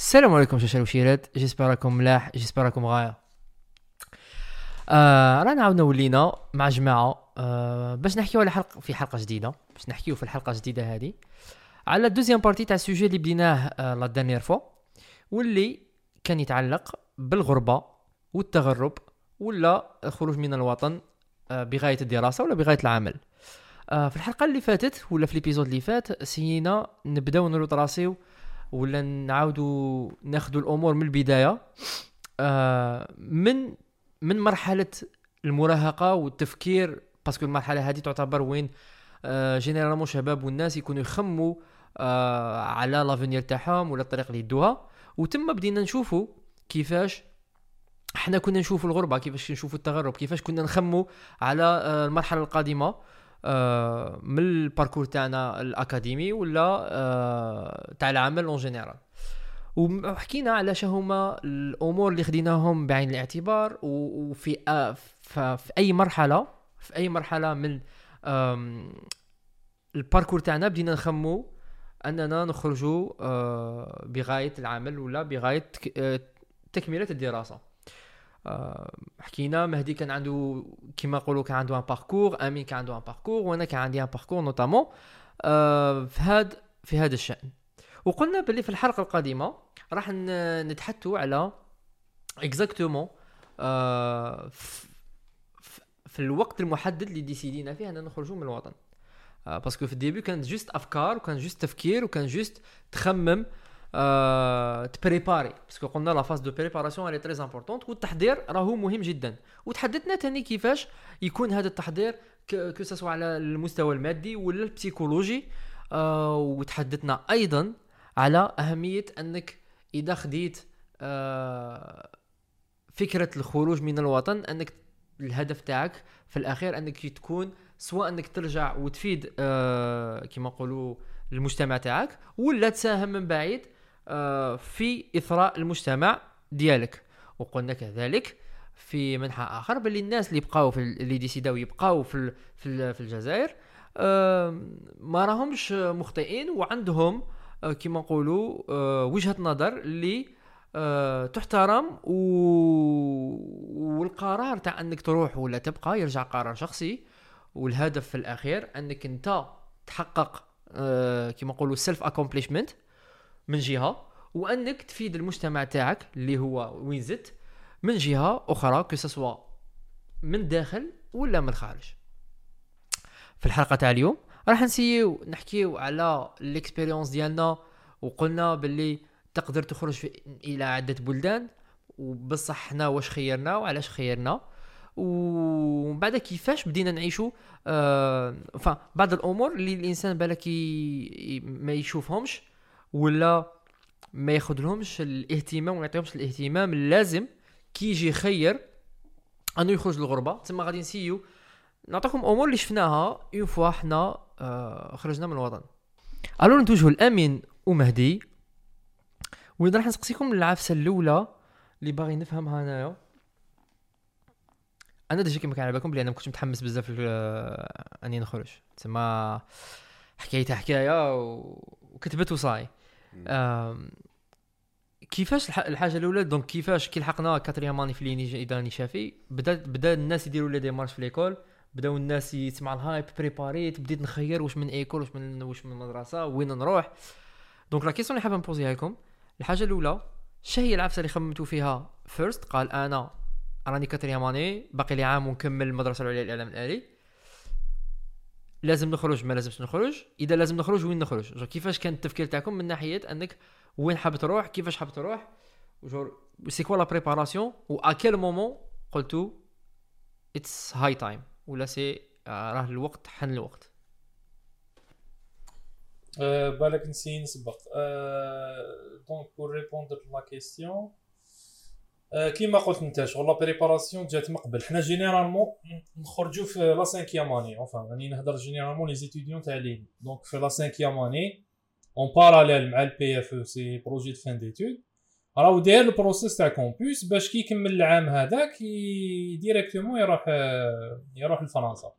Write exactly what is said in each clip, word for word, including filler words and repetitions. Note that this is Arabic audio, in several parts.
السلام عليكم شاشة وشيرات، جيسبر راكم ملاح، جيسبر راكم غاية. آه رانا عاودنا ولينا مع جماعة آه باش نحكيو على حلقة في حلقة جديدة، باش نحكيو في الحلقة الجديدة هذه على الدوزيام بارتي تاع السوجي اللي بديناه آه لا دانيير فوا، واللي كان يتعلق بالغربة والتغرب ولا الخروج من الوطن آه بغاية الدراسة ولا بغاية العمل. آه في الحلقة اللي فاتت ولا في الابيزود اللي فات سينا نبداو نروطراسيو ولا نعاودوا ناخذوا الامور من البدايه، آه من من مرحله المراهقه والتفكير، باسكو المرحله هذه تعتبر وين آه جينيرالمون شباب والناس يكونوا يخموا آه على لافينير تاعهم ولا الطريق اللي يدوها. وتم بدينا نشوفوا كيفاش احنا كنا نشوفوا الغربه، كيفاش نشوفوا التغرب، كيفاش كنا نخموا على آه المرحله القادمه آه من الباركور تاعنا الاكاديمي ولا آه تاع العمل اون جينيرال. وحكينا على هما الامور اللي خديناهم بعين الاعتبار، وفي آه في اي مرحله في اي مرحله من الباركور تاعنا بدينا نخمو اننا نخرجوا آه بغايه العمل ولا بغايه آه تكمله الدراسه. آه حكينا مهدي كان عنده كيما نقولوا كان عنده ان باركور، امين كان عنده ان باركور، وانا كان عندي ان باركور نوتامون آه في هذا في هذا الشأن. وقلنا باللي في الحلقه القادمه راح نتحدثوا على اكزاكتومون آه في الوقت المحدد اللي ديسيدينا فيه اننا نخرجوا من الوطن. آه باسكو في الديبي كانت جوست افكار وكان جوست تفكير وكان جوست تخمم آه تبريباري، باسكو قلنا لا فاز دو بريباراسيون اللي تري امبورطونت، والتحضير راهو مهم جدا. وتحدثنا تاني كيفاش يكون هذا التحضير كو سوا على المستوى المادي ولا البسيكولوجي. آه وتحدثنا ايضا على اهميه انك اذا خديت آه فكره الخروج من الوطن، انك الهدف تاعك في الاخير انك تكون سواء انك ترجع وتفيد آه كما نقولوا المجتمع تاعك، ولا تساهم من بعيد آه في اثراء المجتمع ديالك. وقلنا كذلك في منحى اخر باللي الناس اللي بقاو في اللي ديسيداو يبقاو في في, في الجزائر آه ما راهمش مخطئين، وعندهم آه كما نقولوا آه وجهة نظر اللي أه تحترم و... والقرار تاع انك تروح ولا تبقى يرجع قرار شخصي. والهدف في الاخير انك انت تحقق أه كما نقولوا سيلف اكومبليشمنت من جهه، وانك تفيد المجتمع تاعك اللي هو وين زدت من جهه اخرى، كسوا من داخل ولا من خارج. في الحلقه تاع اليوم راح نسيو نحكيو على الاكسبيريونس ديالنا، وقلنا باللي تقدر تخرج في الى عده بلدان، وبصح حنا واش خيرنا وعلاش خيرنا، ومن بعد كيفاش بدينا نعيشوا آه بعض الامور اللي الانسان بالك ما يشوفهمش ولا ما ياخذلهمش الاهتمام وما يعطيهمش الاهتمام اللازم كي يجي خير انه يخرج للغربه. تما غادي نسيو نعطيكم امور اللي شفناها اون فوا حنا آه خرجنا من الوطن. الو نتوجهوا الامين ومهدي، وإذا راح نسقسيكم العفسه الاولى اللي باغي نفهمها انايا. انا ديجا كيما كان على بالكم بلي انا ما كنتش متحمس بزاف اني نخرج، تما حكايتها حكايه وكتبت وصاي. كيفاش الحاجه الاولى دونك كيفاش كي لحقنا كاتريام ماني في ليني اذا راني شافي، بدا بدا الناس يديروا لي ديمارش في ليكول، بداو الناس يسمع الهايب بريباريت، بديت نخير واش من ايكول واش من واش من مدرسه وين نروح. دونك لا كيسيون اللي حابه نبوزيها لكم، الحاجه الاولى شهي العفسه اللي خممتوا فيها فيرست؟ قال انا راني كاتريام ماني باقي لي عام ونكمل المدرسه العليا للاعلام الالي، لازم نخرج ما لازمش نخرج؟ اذا لازم نخرج وين نخرج؟ كيفاش كان التفكير تاعكم من ناحيه انك وين حاب تروح، كيفاش حاب تروح، جور سي كوا لا بريباراسيون، و ا كيل مومون قلتوا اتس هاي تايم ولا سي راه الوقت حن الوقت؟ أه بالك نسي نسبق. أه دونك بور ريبوندر لا كيسيون أه كيما قلت انت شغل لا بريباراسيون جات من قبل. حنا جينيرالمون نخرجوا في لا سانكيام اني، اونفان راني نهضر جينيرالمون لي زيتيديون تاع لين. دونك في لا سانكيام اني اون باراليل مع البي اف او سي بروجي دو فان ديتود، راهو داير البروسيس تاع كومبوس باش كي يكمل العام هذاك ديريكتومون يروح يروح لفرنسا.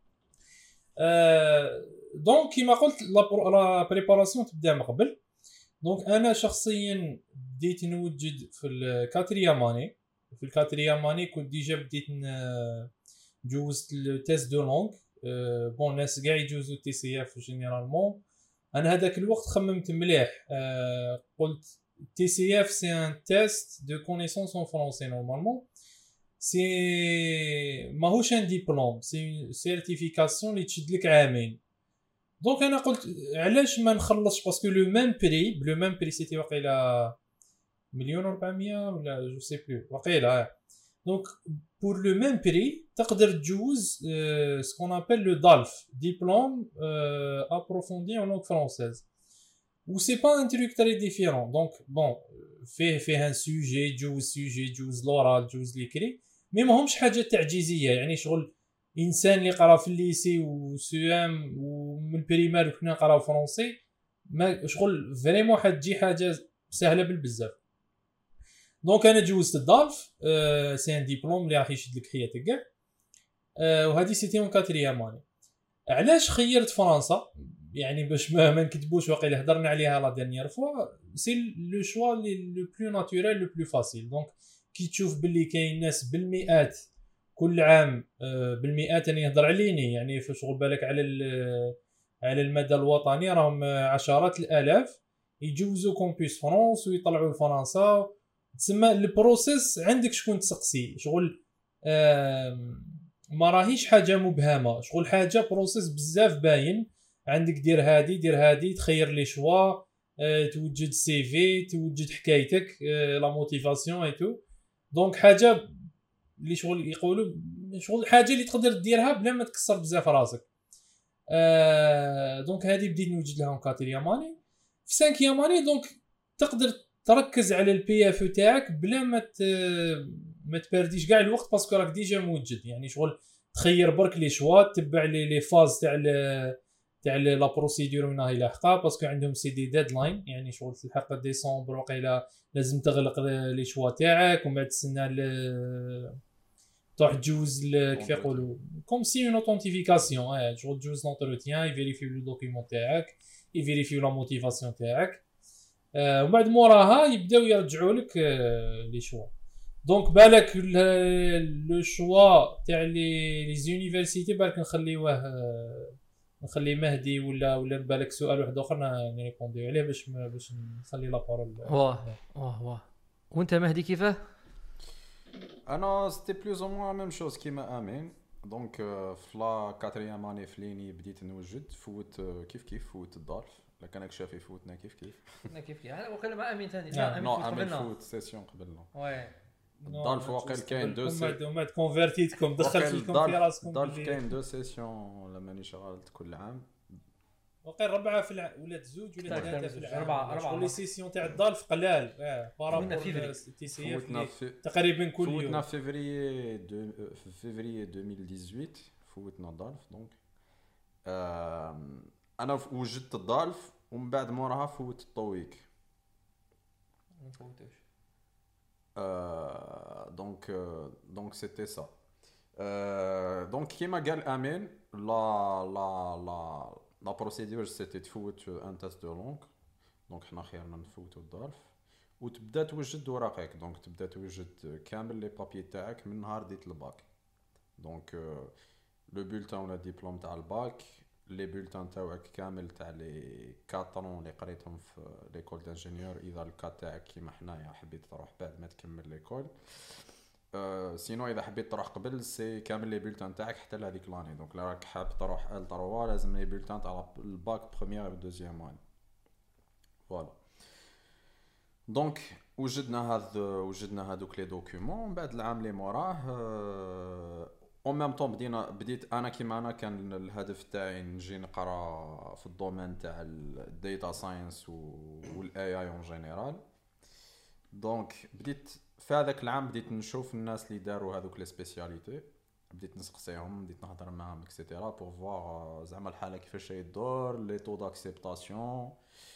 أه دونك كيما قلت لا بريباراسيون تبدا من قبل. دونك انا شخصيا بديت نوجد في الكاتريام اني في الكاتريام اني كنت ديجا بديت جوزت التيست دو لونغ. بون الناس كاع يجوزوا تي سي اف جينيرالمون. انا هذاك الوقت خممت مليح. أه قلت تي سي اف سي ان تيست دو كونيسونس ان فرونسي نورمالمون سي ماهوش ان ديبلوم سي سيرتيفيكاسيون اللي تشد لك عامين. دونك انا قلت علاش ما نخلصش باسكو لو ميم بري بلو ميم بري سيتي واقيلا مليون وأربعمية ولا جو سي بلو واقيلا. دونك بور لو ميم بري تقدر تجوز سكون ابل لو دالف ديبلوم ابروفوندي en langue française و سي با ان تروك تري ديفيرون. دونك بون فيه فيه ان سوجي جوز سوجي جوز لورال جوز ليكري مي ماهمش حاجه تعجيزيه. يعني شغل انسان اللي قرا في الليسي وسيام ومن البريمير كنا نقراو فرونسي ما شغل فريمون حتجي حاجه سهله بالبزاف. دونك انا جوزت الدالف. أه سي ان ديبلوم اللي راح يشد لك حياتك كاع. أه وهذه سيتي اون كاتريام اني. علاش خيرت فرنسا؟ يعني باش ما, ما نكذبوش واقيلا هضرنا عليها لا ديرنيير فوا. سي لو شوا لو بلو ناتوريل لو بلو فاسيل. دونك كي تشوف باللي كاين ناس بالمئات كل عام أه بالمئات انا نهضر عليني يعني في شغل بالك على على المدى الوطني راهم عشرات الالاف يجوزوا كومبيس فرونس ويطلعوا لفرنسا. تسمى البروسيس عندك شكون تسقسي شغل ما راهيش حاجه مبهمه شغل حاجه بروسيس بزاف باين. عندك دير هادي دير هادي تخير لي شوا اه توجد سي في توجد حكايتك اه لا موتيفاسيون اي تو. دونك حاجه اللي شغل يقولوا شغل حاجه اللي تقدر ديرها بلا ما تكسر بزاف راسك. اه دونك هذه بديت نوجد لها كاتريام اني في سانكيام اني. دونك تقدر تركز على البي اف تاعك بلا ما ما تبرديش كاع الوقت باسكو راك ديجا موجد. يعني شغل تخير برك لي شوا تبع لي لي فاز تاع تاع لا بروسيدور وين راهي لاحقه باسكو عندهم سي دي ديدلاين. يعني شغل تلحق ديسمبر وقيلا لازم تغلق لي شوا تاعك ومن بعد تسنى تروح تجوز كيف يقولوا كوم سي اون اوثنتيفيكاسيون. اه شغل تجوز لونتروتيان يفيريفيو لو دوكيمون تاعك يفيريفيو لا موتيفاسيون تاعك. آه وبعد موراها يبداو يرجعوا لك آه لي شوا. دونك بالك لو شوا تاع لي لي زونيفرسيتي بالك نخليوه آه نخلي مهدي ولا ولا بالك سؤال واحد اخر نريبونديو عليه باش باش نخلي لا بارول. واه واه واه وانت مهدي كيفاه؟ انا سيتي بلوز او موان ميم شوز كيما امين. دونك في لا كاتريام اني فليني بديت نوجد فوت كيف كيف فوت الدالف لكن انا شافي فوتنا كيف كيف كنا كيف كيف انا وقيلا ما امين ثاني. لا نو امين فوت سيسيون قبلنا وي الدالف واقيل كاين دو سيسيون ومات كونفيرتيتكم دخلت لكم في راسكم. الدالف كاين دو سيسيون لما ني شغلت كل عام وقيل ربعه في الع... ولا زوج ولا ثلاثه في العام. اربعه اربعه لي سيسيون تاع الدالف قلال اه بارابور تي سي اف تقريبا كل يوم. فوتنا في فيفري دو في فيفري ألفين وثمانية عشر فوتنا الدالف. دونك انا وجدت الدالف ومن بعد موراها فوت الطويك ما فوتوش. دونك دونك سيتي سا. دونك كيما قال امين لا لا لا لا بروسيدور سيتي تفوت ان تيست دو لونغ. دونك حنا خيرنا نفوتوا الدالف وتبدا توجد اوراقك. دونك تبدا توجد كامل لي بابي تاعك من نهار ديت الباك. دونك لو بولتان ولا ديبلوم تاع الباك لي بولتان تاعك كامل تاع لي كاترون اللي قريتهم في ليكول دانجينيور اذا الكات تاعك كيما حنايا حبيت تروح بعد ما تكمل ليكول. أه سينو اذا حبيت تروح قبل سي كامل لي بولتان تاعك حتى لهذيك لاني. دونك لا راك حاب تروح ال ثلاثة لازم لي بولتان تاع الباك بروميير و دوزيام اني. فوالا دونك وجدنا هذا وجدنا هذوك لي دوكيومون. من بعد العام اللي موراه أه او ميم طون بدينا بديت انا كيما انا كان الهدف تاعي نجي نقرا في الدومين تاع الداتا ساينس والاي اي اون جينيرال. دونك بديت في هذاك العام بديت نشوف الناس اللي داروا هذوك لي سبيسياليتي بديت نسقسيهم بديت نهضر معاهم اكسيتيرا بور فوار زعما الحاله كيفاش يدور لي طو داكسبتاسيون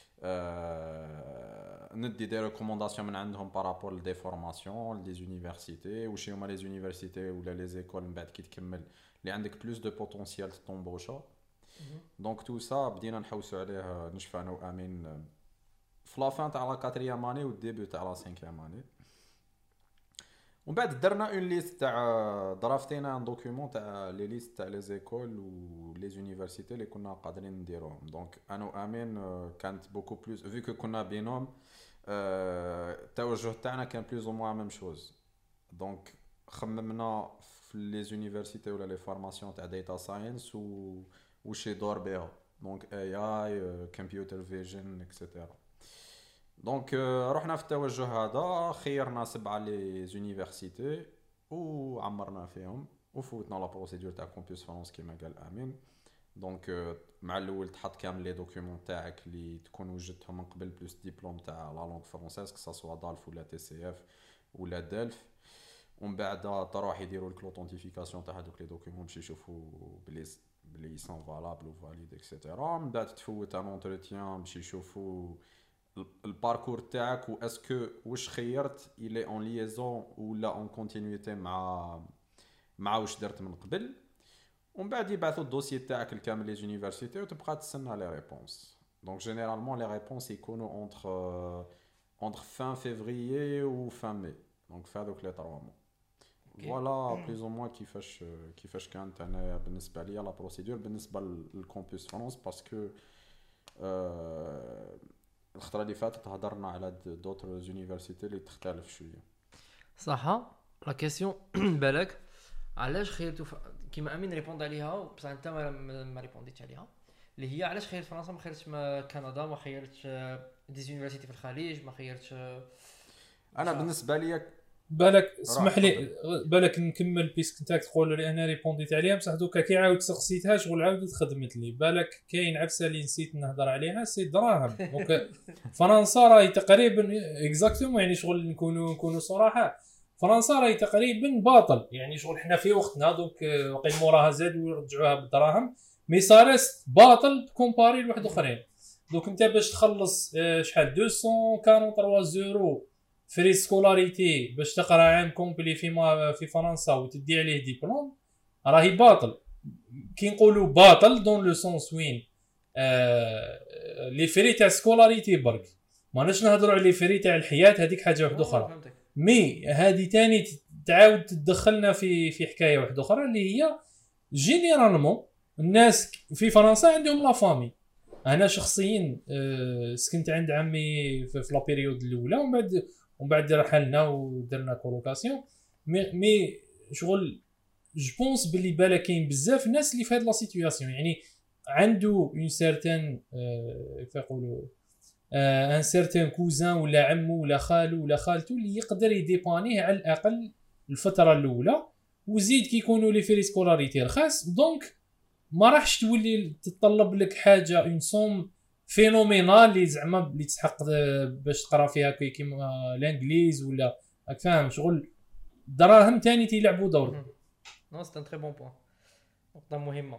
أه ندي دي ريكومونداسيون من عندهم بارابور لدي فورماسيون لدي زونيفرسيتي واش هما لي زونيفرسيتي ولا لي زيكول من بعد كي تكمل اللي عندك بلوس دو بوتونسيال طومبوشا. دونك تو سا بدينا نحوسوا عليه نشفى انا وامين في لا فان تاع لا كاتريام اني والديبي تاع لا سانكيام اني. ومن بعد درنا اون ليست تاع درافتينا ان دوكيومون تاع لي ليست تاع لي زيكول و لي زونيفرسيتي اللي كنا قادرين نديروهم. دونك انا وامين كانت بوكو بلوس في كو كنا بينهم التوجه تاعنا كان بلوز او موان ميم شوز. دونك خممنا في لي زونيفرسيتي ولا لي فورماسيون تاع داتا ساينس و وش يدور بها. دونك اي اي كمبيوتر فيجن اكسيتيرا. دونك رحنا في التوجه هذا، خيرنا سبعه لي زونيفرسيتي وعمرنا فيهم وفوتنا لا بروسيدور تاع كومبيوس فرونس كيما قال امين. دونك مع الاول تحط كامل لي دوكيومون تاعك اللي تكون وجدتهم من قبل بلوس ديبلوم تاع لا لونغ فرونسيز كسا سوا دالف ولا تي سي اف ولا دالف. ومن بعد تروح يديروا لك لوثنتيفيكاسيون تاع هذوك لي دوكيومون باش يشوفوا بلي بلي سون فالابل وفاليد اكسيتيرا. من بعد تفوت ان اونتروتيان باش يشوفوا الباركور تاعك و اسكو واش خيرت الي اون ليزون ولا اون كونتينيتي مع مع واش درت من قبل. ومن بعد يبعثوا الدوسيي تاعك الكامل لي زونيفرسيتي وتبقى تستنى لي ريبونس. دونك جينيرالمون لي ريبونس يكونوا اونتر اونتر فان فيفريي و فان مي. دونك في هذوك لي ثلاثة مو فوالا بليز او موان كيفاش كيفاش كانت انا بالنسبه ليا لا بروسيدور بالنسبه للكومبيوس فرونس. باسكو أه الخطره اللي فاتت هضرنا على دوتر زونيفرسيتي اللي تختلف شويه. صح. لا كيسيون بالك علاش خيرتو ف... كيما امين ريبوند عليها بصح انت ما, ما ريبونديتش عليها، اللي هي علاش خيرت فرنسا ما خيرتش ما كندا، ما خيرتش دي زونيفرسيتي في الخليج، ما خيرتش. انا بالنسبه لي بالك اسمح لي بالك نكمل بيسك نتاك تقول لي انا ريبونديت عليها بصح دوكا كي عاود سقسيتها شغل عاودت خدمت لي. بالك كاين عفسه اللي نسيت نهضر عليها سي دراهم. دونك فرنسا راهي تقريبا اكزاكتومون يعني شغل نكونوا نكونوا صراحه فرنسا راهي تقريبا باطل يعني شغل حنا في وقتنا دوك وقيل موراها زاد ويرجعوها بالدراهم مي صارت باطل كومباري لواحد اخرين. دوك انت باش تخلص شحال مئتين وثلاثة وأربعين يورو فري سكولاريتي باش تقرا عام كومبلي في في فرنسا وتدي عليه ديبلوم راهي باطل. كي نقولوا باطل دون لو سونس وين آه لي فري تاع سكولاريتي برك ماناش نهضروا على لي فري تاع الحياه هذيك حاجه واحده اخرى. مي هذه تاني تعاود تدخلنا في في حكايه واحده اخرى اللي هي جينيرالمون الناس في فرنسا عندهم لا فامي. انا شخصيا آه سكنت عند عمي في لا بيريود الاولى ومن بعد ومن بعد رحلنا ودرنا كولوكاسيون. مي مي شغل جو بونس بلي بالا كاين بزاف ناس اللي في هاد لا سيتوياسيون يعني عنده اون سيرتان كيف يقولوا ان سيرتان كوزان ولا عمو ولا خالو ولا خالته اللي يقدر يديبانيه على الاقل الفتره الاولى وزيد كيكونوا لي فري سكولاريتي رخاص. دونك ما راحش تولي تطلب لك حاجه اون سوم فينومينال اللي زعما اللي تسحق باش تقرا فيها كيما الانجليز ولا راك فاهم شغل دراهم ثاني تيلعبوا دور. نو سي ان تري بون بوين نقطه مهمه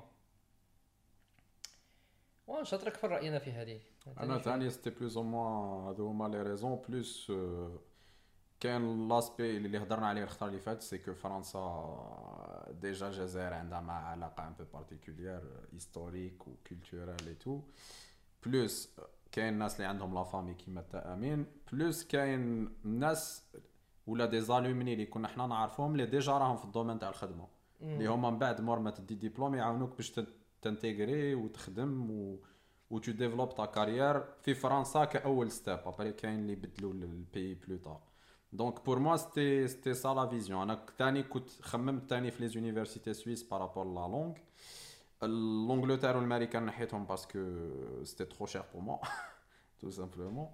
واش شاطرك في راينا في هذه. انا ثاني ستي بلوز او موان هذو هما لي ريزون بلوس كان لاسبي اللي هضرنا عليه الخطره اللي فاتت سي كو فرنسا ديجا الجزائر عندها مع علاقه ان بو بارتيكولير هيستوريك وكولتورال اي تو بلوس كاين الناس اللي عندهم لا فامي كيما تا امين بلوس كاين الناس ولا دي زالومني اللي كنا حنا نعرفهم اللي ديجا راهم في الدومين تاع الخدمه اللي هما من بعد مور ما تدي ديبلوم يعاونوك باش تنتيغري وتخدم و و تو ديفلوب تا كارير في فرنسا كاول ستيب. ابري كاين اللي بدلوا البي بلو طار. دونك بور موا سيتي سيتي سا لا فيزيون. انا ثاني كنت خممت ثاني في لي زونيفرسيتي سويس بارابور لا لونغ l'Angleterre والامريكان نحيتهم باسكو سيتي ترو شير بور موا تو سامبلومون.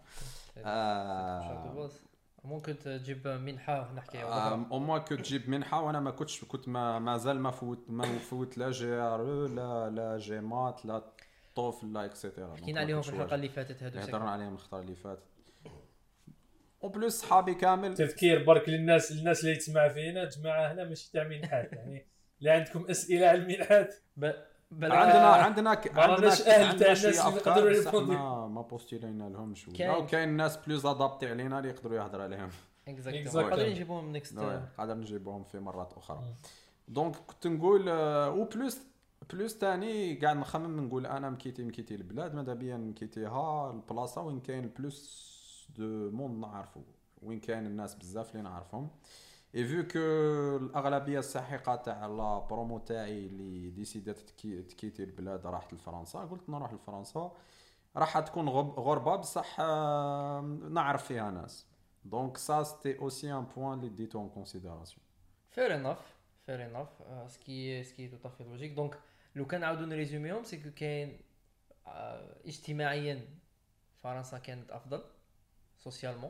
ممكن تجيب منحه نحكي او موا كو تجيب منحه وانا ما كنتش كنت ما مازال ما فوت ما فوت لا جي ار لا لا جيمات لا طوفل لا اكسيتيرا. حكينا عليهم في الحلقه اللي فاتت هذو هضرنا عليهم الخطره اللي فاتت. او بلوس صحابي كامل تذكير برك للناس الناس اللي تسمع فينا جماعه هنا ماشي تاع منحات يعني اللي عندكم اسئله على المنحات عندنا عندنا عندنا عندنا شويه افكار ما ما بوستيلينا لهم شويه وكاين ناس بلوز ادابتي علينا اللي يقدروا يهضروا عليهم اكزاكتلي قادرين نجيبوهم نيكست قادر نجيبوهم في مرات اخرى. دونك كنت نقول او بلوس بلوس تاني قاعد نخمم نقول انا مكيتي مكيتي البلاد ماذا بيا نكيتيها البلاصه وين كاين بلوس دو موند نعرفو، وين كاين الناس بزاف اللي نعرفهم. اي فيو كو الاغلبيه الساحقه تاع لا برومو تاعي اللي ديسيدات تكي تكيتي البلاد راحت لفرنسا، قلت نروح لفرنسا راح تكون غب- غربه بصح آه، نعرف فيها ناس. دونك سا سيتي اوسي ان بوين اللي ديتو اون كونسيديراسيون. فير انف فير انف سكي سكي تو تافي لوجيك. دونك لو كان نعاودو نريزوميهم سي كو كاين آه، اجتماعيا فرنسا كانت افضل سوسيالمون،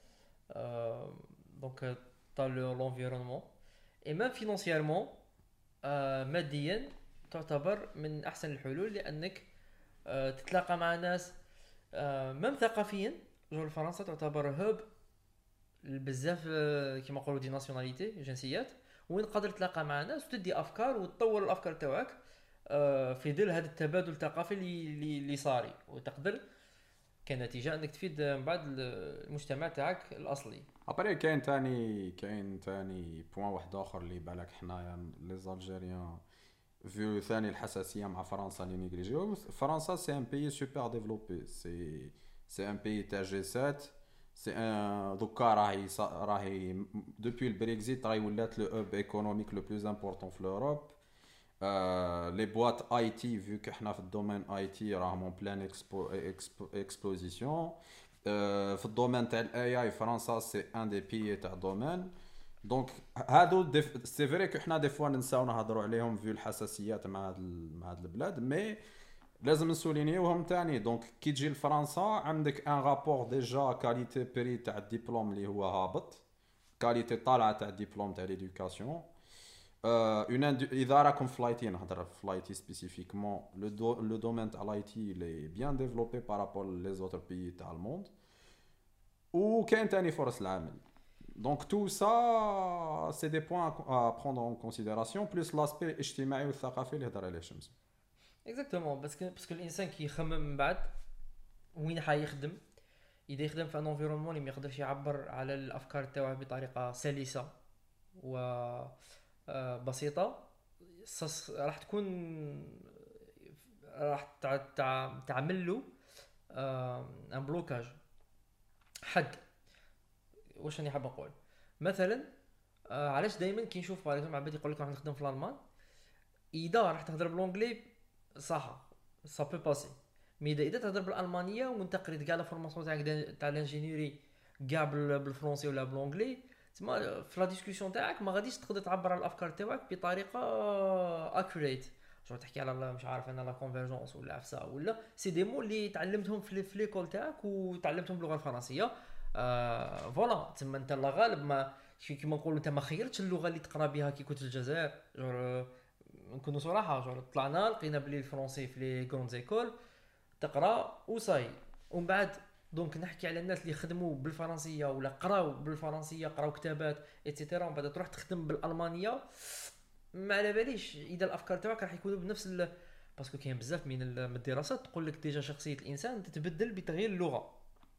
دونك طا لونفيرونمون اي ميم فينونسييرمون ماديا تعتبر من احسن الحلول، لانك آه، تتلاقى مع ناس ميم ثقافيا. جول فرنسا تعتبر هوب بزاف آه، كيما نقولوا دي ناسيوناليتي جنسيات، وين تقدر تلاقى مع ناس وتدي افكار وتطور الافكار تاعك آه، في ظل هذا التبادل الثقافي اللي اللي اللي صاري، وتقدر كنتيجه انك تفيد من بعد المجتمع تاعك الاصلي. ابري كاين تاني كاين تاني بوين واحد اخر اللي بالك حنايا لي زالجيريان فيو ثاني الحساسيه مع فرنسا اللي نيجليجيو. فرنسا سي ان بيي سوبر ديفلوبي، سي سي ان بيي تاع جي سبعة، سي ان دوكا راهي صا- راهي دوبوي البريكزيت راهي ولات لو اوب ايكونوميك لو بلوز امبورطون في لوروب. لي بواط اي تي فيو كحنا في الدومين اي تي راهم اون بلان اكسبو اكسبوزيسيون. في الدومين تاع الاي اي فرنسا سي ان دي بيي تاع دومين. دونك هادو ديف... سي فري كو حنا دي فوا ننساو نهضروا عليهم فيو الحساسيات مع هاد ال... مع هاد البلاد، مي لازم نسولينيوهم تاني. دونك كي تجي لفرنسا عندك ان رابور ديجا كاليتي بري تاع الدبلوم اللي هو هابط، كاليتي طالعه تاع الدبلوم تاع ليدوكاسيون. اون اذا راكم في لايتي نهضر في لايتي سبيسيفيكمون، لو دو... لو دومين تاع لايتي لي بيان ديفلوبي بارابور لي زوتر بيي تاع الموند، وكاين تاني فرص العمل. Donc tout ça, c'est des points à prendre en considération, plus l'aspect الاجتماعي والثقافي اللي هضر عليه شمس. اكزاكتومون، باسكو باسكو الانسان كيخمم من بعد وين حيخدم، اذا يخدم في ان انفيرونمون اللي ما يقدرش يعبر على الافكار تاعه بطريقه سلسه و آه، بسيطه، صص- راح تكون راح تع- تع- تعمل له ان بلوكاج حد. واش راني حاب نقول مثلا آه، علاش دائما كي نشوف باغ عباد يقول لك راح نخدم في الالمان، اذا راح تهضر بالونجلي صح سا بو باسي، مي اذا اذا تهضر بالالمانيه وانت قريت كاع لا فورماسيون تاعك دا- تاع الانجينيوري كاع بال- بالفرنسي ولا بالونجلي، تسمى في لا ديسكوسيون تاعك ما غاديش تقدر تعبر على الافكار تاعك بطريقه اكوريت. شو تحكي على مش عارف انا لا كونفيرجونس ولا عفسه ولا سي دي مو اللي تعلمتهم في في ليكول تاعك وتعلمتهم باللغه الفرنسيه. آه فوالا تما انت لا غالب ما شي كيما نقولوا انت ما خيرتش اللغه اللي تقرا بها كي كنت في الجزائر. جور نكونوا صراحه، جور طلعنا لقينا بلي الفرنسي في لي كروند زيكول تقرا وصاي، ومن بعد دونك نحكي على الناس اللي خدموا بالفرنسيه ولا قراو بالفرنسيه قراو كتابات ايتترا، ومن بعد تروح تخدم بالالمانيه ما على باليش اذا الافكار تاعك راح يكونوا بنفس ال... باسكو كاين بزاف من ال- من الدراسات تقول لك ديجا شخصيه الانسان تتبدل بتغيير اللغه،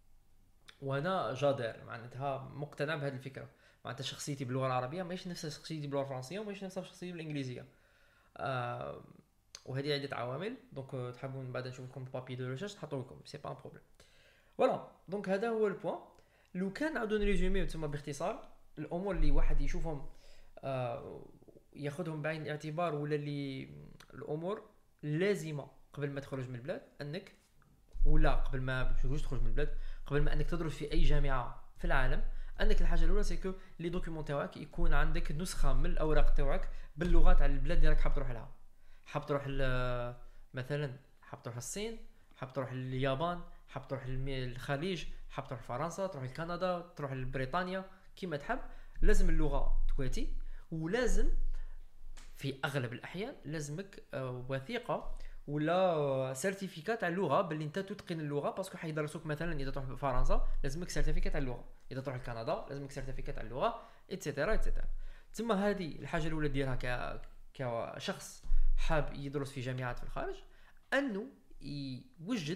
وانا جادر معناتها مقتنع بهذه الفكره. معناتها شخصيتي باللغه العربيه ماهيش نفس شخصيتي باللغه الفرنسيه وماهيش نفس شخصيتي بالانجليزيه. آه وهذه عده عوامل. دونك آه، تحبون من بعد نشوف لكم البابي دو ريشيرش نحطو لكم، سي با ان بروبليم. فوالا دونك هذا هو البوان. لو كان نعاودو نريزوميو تما باختصار الامور اللي واحد يشوفهم آه ياخذهم بعين الاعتبار، ولا اللي الامور لازمه قبل ما تخرج من البلاد، انك ولا قبل ما باش تخرج من البلاد، قبل ما انك تدرس في اي جامعه في العالم، انك الحاجه الاولى سيكو لي دوكيومون تاعك يكون عندك نسخه من الاوراق تاعك باللغات تاع البلاد اللي راك حاب تروح لها. حاب تروح ل- مثلا حاب تروح الصين، حاب تروح اليابان، حاب تروح الم- الخليج، حاب تروح فرنسا، تروح لكندا، تروح لبريطانيا، كيما تحب. لازم اللغه تواتي، ولازم في اغلب الاحيان لازمك آه، وثيقه ولا سيرتيفيكات على اللغه باللي انت تتقن اللغه، باسكو حيدرسوك مثلا اذا تروح فرنسا لازمك سيرتيفيكات على اللغه، اذا تروح لكندا لازمك سيرتيفيكات على اللغه ايتترا ايتترا. تما هذه الحاجه الاولى ديرها ك كشخص حاب يدرس في جامعات في الخارج، انه يوجد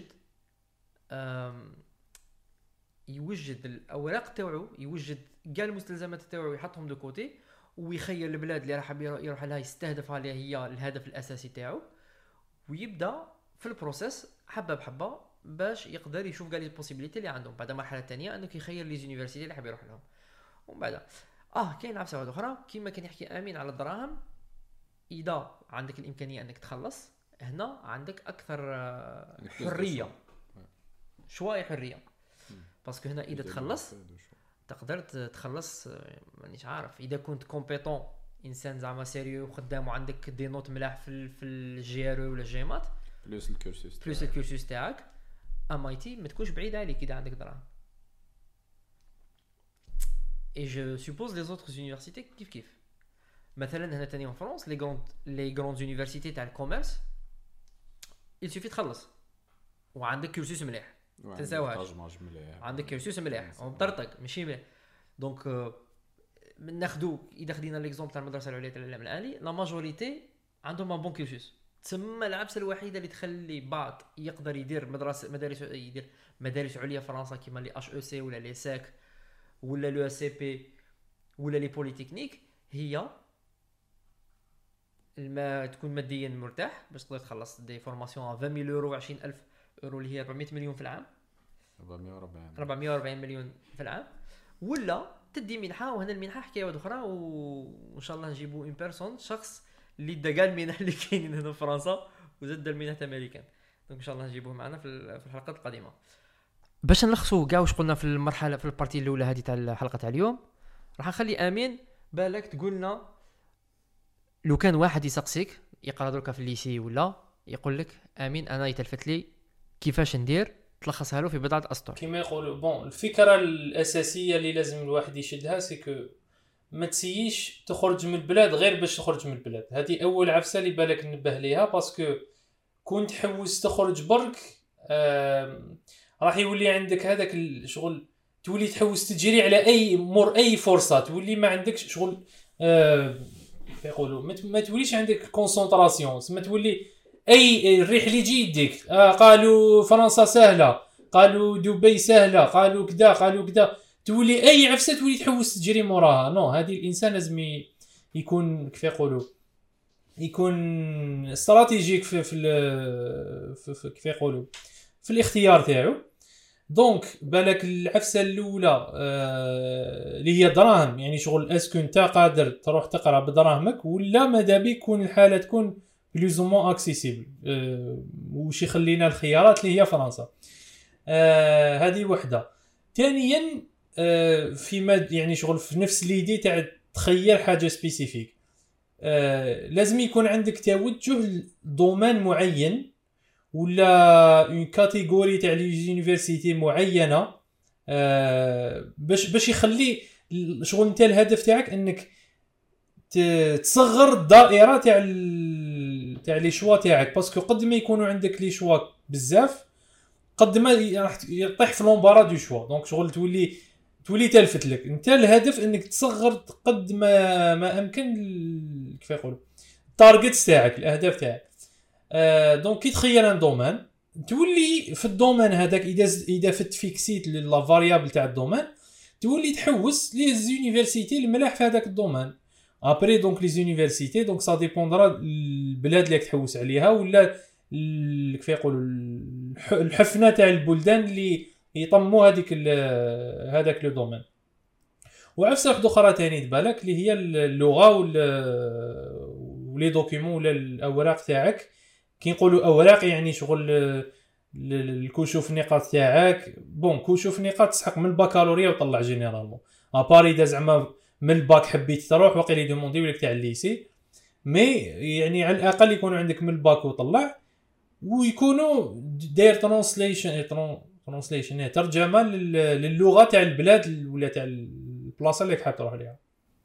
أم، يوجد الاوراق تاعو، يوجد كاع المستلزمات تاعو يحطهم دو كوتي، ويخير البلاد اللي راح يروح لها يستهدفها اللي هي الهدف الاساسي تاعو، ويبدا في البروسيس حبه بحبه باش يقدر يشوف قال لي البوسيبيليتي اللي عندهم. بعد المرحله الثانيه انه يخير لي زونيفرسيتي اللي حاب يروح لهم. ومن بعد اه كاين عفسه واحده اخرى كيما كان يحكي امين على الدراهم، اذا عندك الامكانيه انك تخلص هنا عندك اكثر حريه شويه حريه، باسكو هنا اذا تخلص تقدر تخلص مانيش عارف اذا كنت كومبيتون انسان زعما سيريو وخدام وعندك دي نوت ملاح في في الجيرو ولا الجيمات بلوس الكورسوس بلوس الكورسوس تاعك ام اي تي ما تكونش بعيد عليك اذا عندك دراهم. اي جو سوبوز لي زوتر يونيفرسيتي كيف كيف. مثلا هنا تاني في فرنسا لي غروند لي غروند يونيفرسيتي تاع الكوميرس il suffit تخلص وعندك كورسوس مليح تنساوهاش، عندك كورسوس مليح ومطرطق ماشي مليح. دونك ناخذوا اذا خدينا ليكزومبل تاع المدرسه العليا تاع العلم الالي لا ماجوريتي عندهم ان بون كورسوس، تسمى العبسه الوحيده اللي تخلي بعض يقدر يدير مدرسه مدارس يدير مدارس عليا فرنسا كيما لي اش او سي ولا لي ساك ولا لو اس سي بي ولا لي بوليتكنيك هي الما تكون ماديا مرتاح باش تقدر تخلص دي فورماسيون عشرين مية يورو عشرين ألف يورو اللي هي أربعمية مليون في العام أربعمية وأربعين مليون في العام، ولا تدي منحه. وهنا المنحه حكايه واحده اخرى وان شاء الله نجيبوا اون بيرسون شخص اللي دا قال المنح اللي كاينين هنا في فرنسا وزاد المنح امريكان، دونك ان شاء الله نجيبوه معنا في في الحلقات القادمه. باش نلخصوا كاع واش قلنا في المرحله في البارتي الاولى هذه تاع الحلقه تاع اليوم، راح نخلي امين بالك تقول لنا لو كان واحد يسقسيك يقرا دركا في الليسي ولا يقول لك امين انا يتلفت لي كيفاش ندير، تلخصها له في بضعه اسطر. كيما يقولوا بون الفكره الاساسيه اللي لازم الواحد يشدها سي كو ما تسييش تخرج من البلاد غير باش تخرج من البلاد. هذه اول عفسه اللي بالك ننبه ليها، باسكو كون تحوس تخرج برك راح يولي عندك هذاك الشغل تولي تحوس تجري على اي مور اي فرصه، تولي ما عندكش شغل آه يقولوا ما توليش عندك كونسنتراسيون، ما تولي اي الريح اللي يجي يديك آه قالوا فرنسا سهله، قالوا دبي سهله، قالوا كذا قالوا كذا، تولي اي عفسه تولي تحوس تجري موراها. نو هذه الانسان لازم يكون كيف يقولوا يكون استراتيجيك في في, في, في كيف يقولوا في الاختيار تاعو. دونك بالك العفسه الاولى آه اللي هي دراهم، يعني شغل اسكو انت قادر تروح تقرا بدراهمك ولا ماذا بك تكون الحاله تكون بلوز او مون اكسيسيبل آه وش يخلينا الخيارات اللي هي فرنسا. آه هذه وحده. ثانيا آه في يعني شغل في نفس ليدي تاع تخيل حاجه سبيسيفيك آه لازم يكون عندك توجه دومين معين ولا اون كاتيجوري تاع لي يونيفرسيتي معينه آه باش باش يخلي شغل انت الهدف تاعك انك تصغر الدائره تاع تاع لي شوا تاعك، باسكو قد ما يكونوا عندك لي شوا بزاف قد ما راح يطيح في لومبارا دو شوا. دونك شغل تولي تولي تلفت لك انت الهدف انك تصغر قد ما ما امكن كيف يقولوا التارجت تاعك الاهداف تاعك. آه دونك كي تخيل ان دومين تولي في الدومين هذاك اذا اذا فت فيكسيت لا فاريابل تاع الدومين تولي تحوس لي زونيفرسيتي الملاح في هذاك الدومين. ابري دونك لي زونيفرسيتي دونك سا ديبوندرا البلاد اللي تحوس عليها ولا كيف يقولوا الحفنه تاع البلدان اللي يطموا هذيك هذاك لو دومين. وعفسه واحده اخرى ثاني تبالك اللي هي اللغه ولي دوكيومون ولا الاوراق تاعك. كي نقولوا اوراق يعني شغل الكشوف النقاط تاعك. بون كشوف نقاط تسحق من البكالوريا وطلع جينيرالمون اباري اذا زعما من الباك حبيت تروح واقيلا يدوموندي لك تاع الليسي، مي يعني على الاقل يكونوا عندك من الباك وطلع ويكونوا داير ترانسليشن ترانسليشن ترجمه للغه تاع البلاد ولا تاع البلاصه اللي حاب تروح ليها.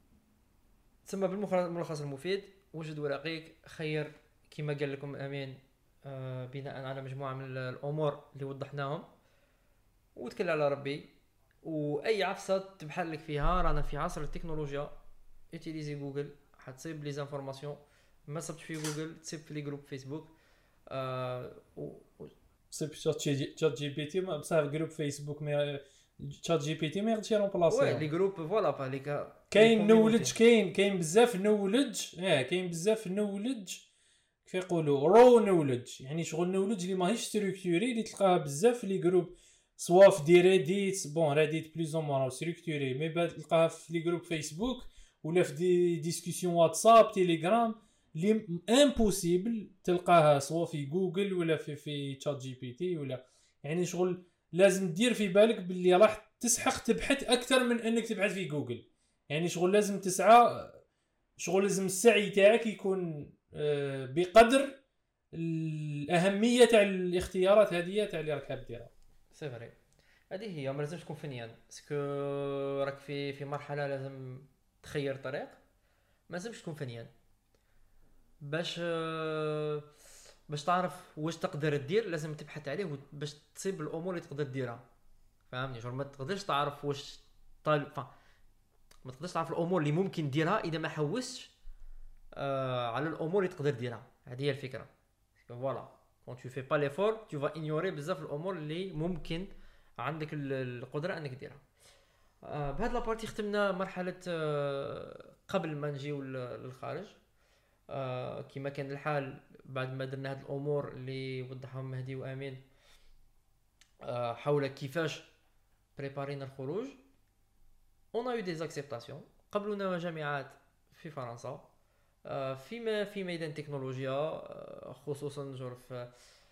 ثم بالملخص المفيد وجد ورقيك خير كما قال لكم امين آه بناء على مجموعه من الامور اللي وضحناهم، وتكل على ربي. واي عفسه تبحر لك فيها رانا في عصر التكنولوجيا، اتيليزي جوجل حتصيب لي زانفورماسيون، ما صبت في جوجل تصيب في لي جروب فيسبوك آه و... صيب شات جي بي تي ما بصح جروب فيسبوك ما تشات جي بي تي ما يقدرش وي يرومبلاسي. لي جروب فوالا فاليك كاين نولج كاين كاين بزاف نولج اه كاين بزاف نولج كيف يقولوا رو نولج، يعني شغل نولج اللي ماهيش ستركتوري اللي تلقاها بزاف في لي جروب سوا في دي ريديت. بون ريديت بلوز او موان ستركتوري، مي بعد تلقاها في لي جروب فيسبوك ولا في دي ديسكوسيون واتساب تيليجرام اللي امبوسيبل تلقاها سوا في جوجل ولا في في تشات جي بي تي ولا. يعني شغل لازم دير في بالك باللي راح تسحق تبحث اكثر من انك تبحث في جوجل. يعني شغل لازم تسعى، شغل لازم السعي تاعك يكون بقدر الاهميه تاع الاختيارات هذه تاع اللي راك حاب ديرها. سي فري هذه هي، ما لازمش تكون فنيان باسكو راك في في مرحله لازم تخير طريق، ما لازمش تكون فنيان باش باش تعرف واش تقدر دير. لازم تبحث عليه باش تصيب الامور اللي تقدر ديرها، فهمني؟ شغل ما تقدرش تعرف واش طالب ف... ما تقدرش تعرف الامور اللي ممكن ديرها اذا ما حوستش آه على الامور اللي تقدر ديرها. هذه هي الفكره. فوالا كون tu fais pas l'effort tu vas ignorer بزاف الامور اللي ممكن عندك القدره انك ديرها. آه بهذا لابارتي ختمنا مرحله آه قبل ما نجيو للخارج. آه كما كان الحال بعد ما درنا هذه الامور اللي وضحهم مهدي وامين آه حول كيفاش بريبارينا الخروج. on a eu des acceptations. قبلنا جامعات في فرنسا آه في في ميدان التكنولوجيا آه خصوصا جور في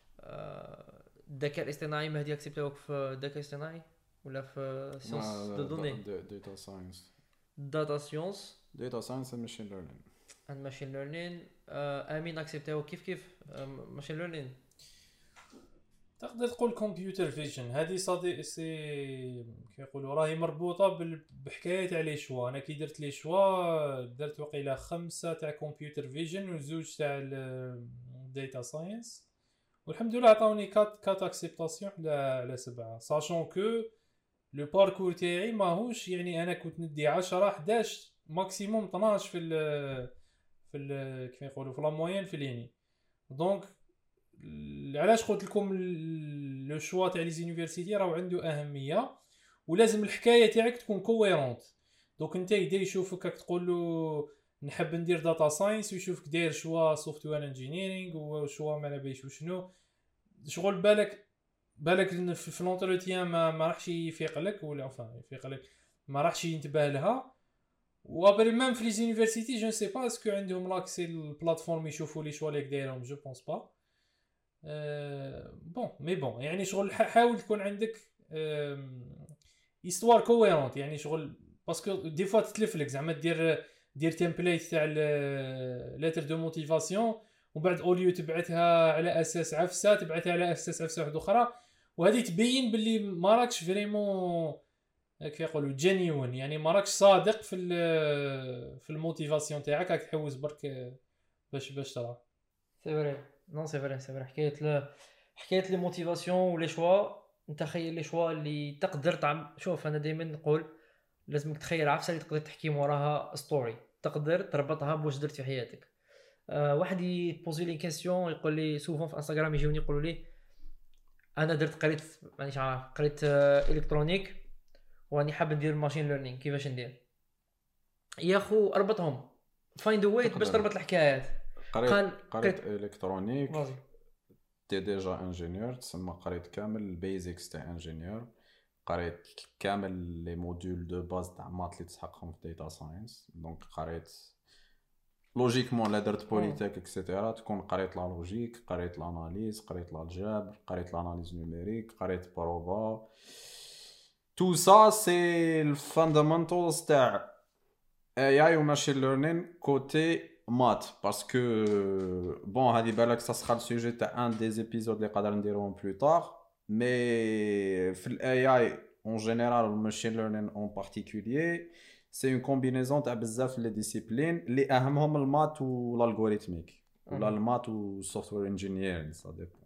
آه الذكاء الاصطناعي. مهدي اكسبتوك في الذكاء الاصطناعي ولا في سيونس دو دوني؟ داتا ساينس داتا سيونس داتا ساينس اند ماشين ليرنينغ اند ماشين ليرنينغ. امين اكسبتوك كيف كيف ماشين ليرنينغ. تقدر تقول كمبيوتر فيجن هذه صديق سي كيقولوا راهي مربوطه بحكايه تاع لي شوا. انا كي درت لي شوا درت وقيله خمسه تاع كمبيوتر فيجن وزوج تاع داتا ساينس، والحمد لله عطاوني كات كات اكسبتاسيون على على سبعه. ساشون كو لو باركور تاعي ماهوش يعني انا كنت ندي عشرة حداش ماكسيموم اثناش في ال في ال كيف يقولوا في لا موين في ليني. دونك علاش قلت لكم لو شوا تاع لي زونيفرسيتي راهو عنده اهميه ولازم الحكايه تاعك تكون كويرونت. دونك انت يدي يشوفك راك تقول له نحب ندير داتا ساينس ويشوفك داير شوا سوفتوير انجينيرينغ وشوا ما نبيش وشنو. شغل بالك بالك في لونتروتيان ما ما راحش يفيق لك ولا فاهم يفيق لك ما راحش ينتبه لها. وابري ميم في لي زونيفرسيتي جو سي با اسكو عندهم لاكسي البلاتفورم يشوفوا لي شوا ليك دايرهم. جو بونس با أه بون مي بون يعني شغل حاول تكون عندك ايستوار كويرونت. يعني شغل باسكو دي فوا تتلف لك زعما دير دير تمبليت تاع لتر دو موتيفاسيون وبعد اوليو تبعتها على اساس عفسه تبعتها على اساس عفسه واحده اخرى، وهذه تبين باللي ما راكش فريمون كيف يقولوا جينيون. يعني ما راكش صادق في في الموتيفاسيون تاعك، راك تحوس برك باش باش ترى. سي فري نون سي فري سي فري حكايه ل... حكايه لي موتيفاسيون ولي شوا. انت خير لي شوا اللي تقدر تعمل. شوف انا دائما نقول لازمك تخير عفسه اللي تقدر تحكي وراها ستوري تقدر تربطها بواش درت في حياتك. أه واحد يبوزي لي كيسيون يقول لي سوفون في انستغرام يجوني يقولوا لي انا درت قريت مانيش عارف قريت آه الكترونيك واني حاب ندير ماشين ليرنينغ كيفاش ندير يا خو اربطهم فايند ا واي باش تربط الحكايات. قريت قريت الكترونيك تي ديجا انجينيور تسمى قريت كامل البيزكس تاع انجينيور قريت كامل لي موديول دو باز تاع مات اللي تسحقهم في داتا ساينس. دونك قريت لوجيكمون لا درت بوليتيك اكسيتيرا تكون قريت لا لوجيك قريت لاناليز قريت الجبر قريت لاناليز نيميريك قريت بروفا. تو سا سي الفاندامنتالز تاع اي اي و ماشين ليرنينغ كوتي مات باسكو بون هذه بالك سا السوجي تاع ان دي زيبيزود اللي قادر نديروهم بلو طار. مي في الاي اي اون جينيرال و ماشين ليرنينغ اون بارتيكولير سي اون كومبينيزون تاع بزاف لي ديسيبلين اللي اهمهم المات و الالغوريثميك ولا المات و السوفتوير انجينير سا ديبون.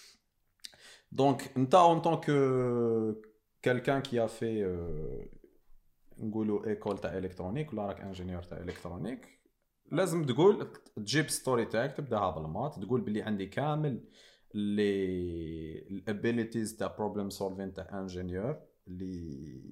دونك انت اون طونك quelqu'un qui a fait نقولوا ايكول تاع الكترونيك ولا راك انجينيور تاع الكترونيك لازم تقول تجيب ستوري تاعك تبداها بالمات تقول بلي عندي كامل لي الابيليتيز تاع بروبلم سولفين تاع انجينيور اللي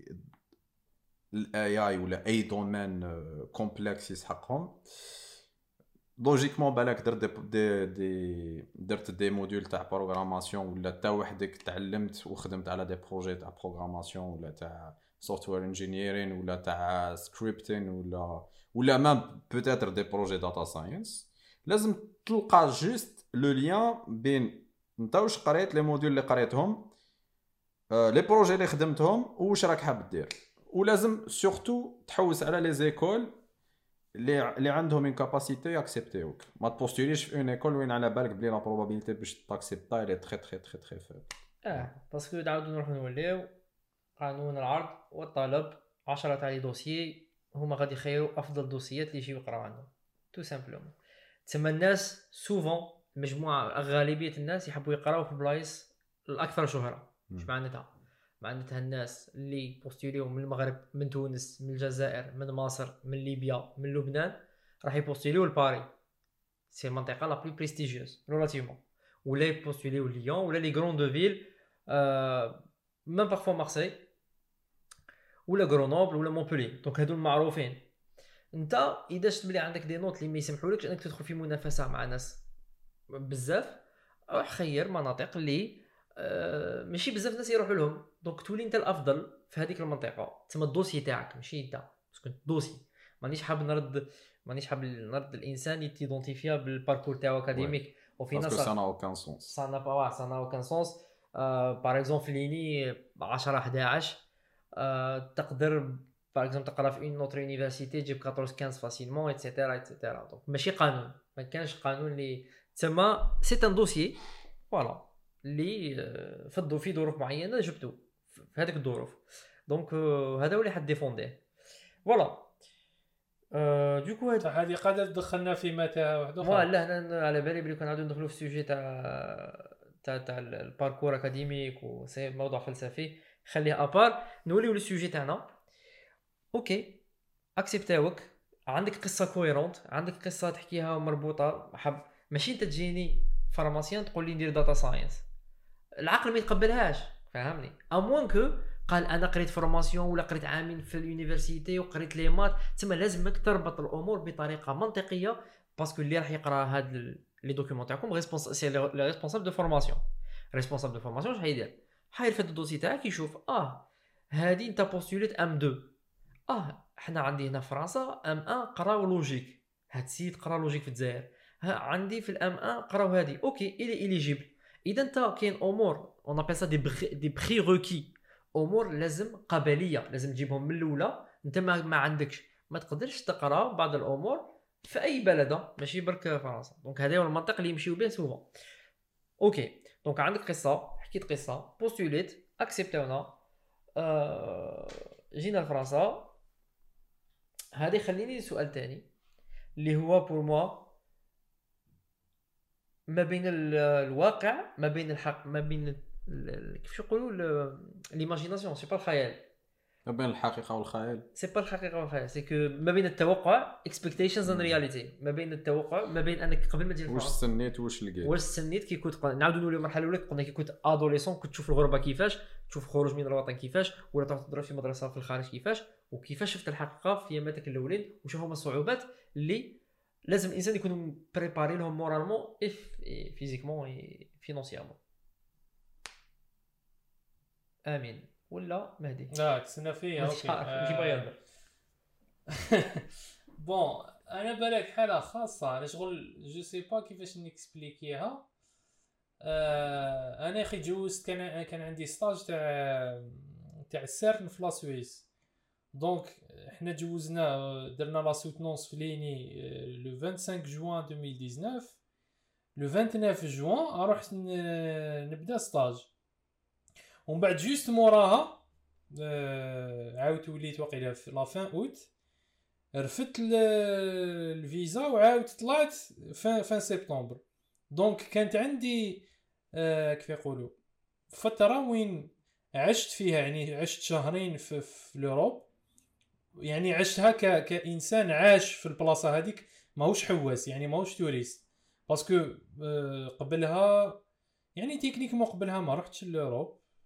الاي اي ولا اي دومين كومبلكس يسحقهم لوجيكمون بالك درت دي دي درت دي موديول تاع بروغراماسيون ولا تا وحدك تعلمت وخدمت على دي بروجي تاع بروغراماسيون ولا تاع سوفتوير انجينيرين ولا تاع سكريبتين ولا ولا ما بوتيتر دي بروجي داتا ساينس لازم تلقى جوست لو لين بين انت واش قريت لي موديول اللي قريتهم لي بروجي اللي خدمتهم واش راك حاب دير ولازم سورتو تحوس على لي زيكول اللي اللي عندهم ان كاباسيتي ياكسبتيوك ما تبوستوليش في اون ايكول وين على بالك بلي لا بروبابيليتي باش تاكسبتا لي تري تري تري تري فيبل اه باسكو نعاودو نروحو نوليو قانون العرض والطلب عشرة تاع لي دوسيي هما غادي يخيروا افضل دوسيات اللي يجيو يقراو عندهم تو سامبلومون. تسمى الناس سوفون مجموعه غالبيه الناس يحبوا يقراو في بلايص الاكثر شهره. اش معناتها؟ معناتها الناس اللي بوستيليو من المغرب من تونس من الجزائر من مصر من ليبيا من لبنان راح يبوستيليو لباري سي المنطقه لا بلو بريستيجيوز ريلاتيفمون ولا يبوستيليو ليون ولا لي غروند فيل آه ميم بارفو مارسي ولا غرونوبل ولا مونبولي. دونك هادو المعروفين. انت اذا شفت بلي عندك دي نوت اللي ما يسمحولكش انك تدخل في منافسه مع ناس بزاف روح خير مناطق اللي أه ماشي بزاف ناس يروحوا لهم. دونك تولي انت الافضل في هذيك المنطقه. تسمى الدوسي تاعك ماشي انت باسكو الدوسي مانيش حاب نرد مانيش حاب نرد الانسان يتيدونتيفيا بالباركور تاعو اكاديميك وفي ناس باسكو سا اوكان سونس سا نا با سا نا اوكان سونس. باغ اكزومبل في ليني عشرة احد عشر أه تقدر باغ اكزومبل تقرا في اون نوتر يونيفرسيتي تجيب أربعطاش خمسطاش فاسيلمون ايتترا ايتترا. دونك ماشي قانون ما كانش قانون اللي تسمى سي ان دوسيي فوالا اللي فضوا في ظروف معينه جبتو في هذيك الظروف. دونك هذا هو اللي حد ديفونديه فوالا. أه دوكو هذه قادر دخلنا في متاهه واحده اخرى. لا انا على بالي بلي كنا نعاودو ندخلوا في السوجي تاع تاع تاع الباركور اكاديميك وسي موضوع فلسفي خليه ابار. نوليو للسوجي تاعنا. اوكي اكسبتاوك عندك قصه كويرونت عندك قصه تحكيها مربوطه حب ماشي انت تجيني فارماسيان تقول لي ندير داتا ساينس العقل ما يتقبلهاش فهمني. اموان كو قال انا قريت فورماسيون ولا قريت عامين في اليونيفرسيتي وقريت لي مات تما لازمك تربط الامور بطريقه منطقيه باسكو اللي راح يقرا هاد لي دوكيومون تاعكم ريسبونس سي لي ريسبونسابل دو فورماسيون. ريسبونسابل دو فورماسيون اش حيدير؟ حير في الدوسي تاعك يشوف اه هادي انت بوستوليت ام اثنين اه حنا عندي هنا في فرنسا ام واحد قراو لوجيك هاد السيد قرا لوجيك في الجزائر عندي في الام واحد قراو هادي اوكي الي اليجيبل. اذا انت كاين امور اون ابل سا دي دي بري روكي امور لازم قبليه لازم تجيبهم من الاولى. انت ما, ما عندكش ما تقدرش تقرا بعض الامور في اي بلد ماشي برك فرنسا. دونك هذا هو المنطق اللي يمشيو به سوفون. اوكي دونك عندك قصه حكيت قصه بوستوليت اكسبتونا آه جينا لفرنسا. هذه خليني سؤال تاني اللي هو بور موا ما بين الواقع ما بين الحق ما بين كيفاش يقولوا ليماجيناسيون سي با الخيال ما بين الحقيقه والخيال سي با الحقيقه والخيال سي كو ما بين التوقع expectations and reality ما بين التوقع ما بين انك قبل ما تجي واش سنيت واش لقيت واش سنيت كي كنت نعاودوا نوليو المرحله الاولى قلنا كي كنت ادوليسون كنت تشوف الغربه كيفاش تشوف الخروج من الوطن كيفاش ولا تروح تدرس في مدرسه في الخارج كيفاش وكيفاش شفت الحقيقه في اياماتك الاولين وشوف هما الصعوبات اللي لازم الانسان يكون بريباري لهم مورالمون اف فيزيكمون اي فينانسيامون. امين ولا مهدي؟ لا تسنى فيه اوكي ماشي باغي يهضر. بون انا بالك حاله خاصه انا شغل جو سي با كيفاش نيكسبليكيها. آه انا اخي جوزت كان كان عندي ستاج تاع تاع السيرن في لا سويس. دونك حنا جوزنا درنا لا سوتنونس في ليني لو خمسة وعشرين جوان ألفين وتسعطاش. لو تسعة وعشرين جوان رحت نبدا ستاج ومن بعد جوست موراها آه عاودت وليت واقيلا في لا فان اوت رفدت الفيزا وعاودت طلعت فان فان سبتمبر. دونك كانت عندي آه كيف يقولوا فتره وين عشت فيها يعني عشت شهرين في, في لوروب يعني عشتها ك كانسان عاش في البلاصه هذيك ماهوش حواس يعني ماهوش توريست باسكو آه قبلها يعني تكنيك ما قبلها ما رحتش لوروب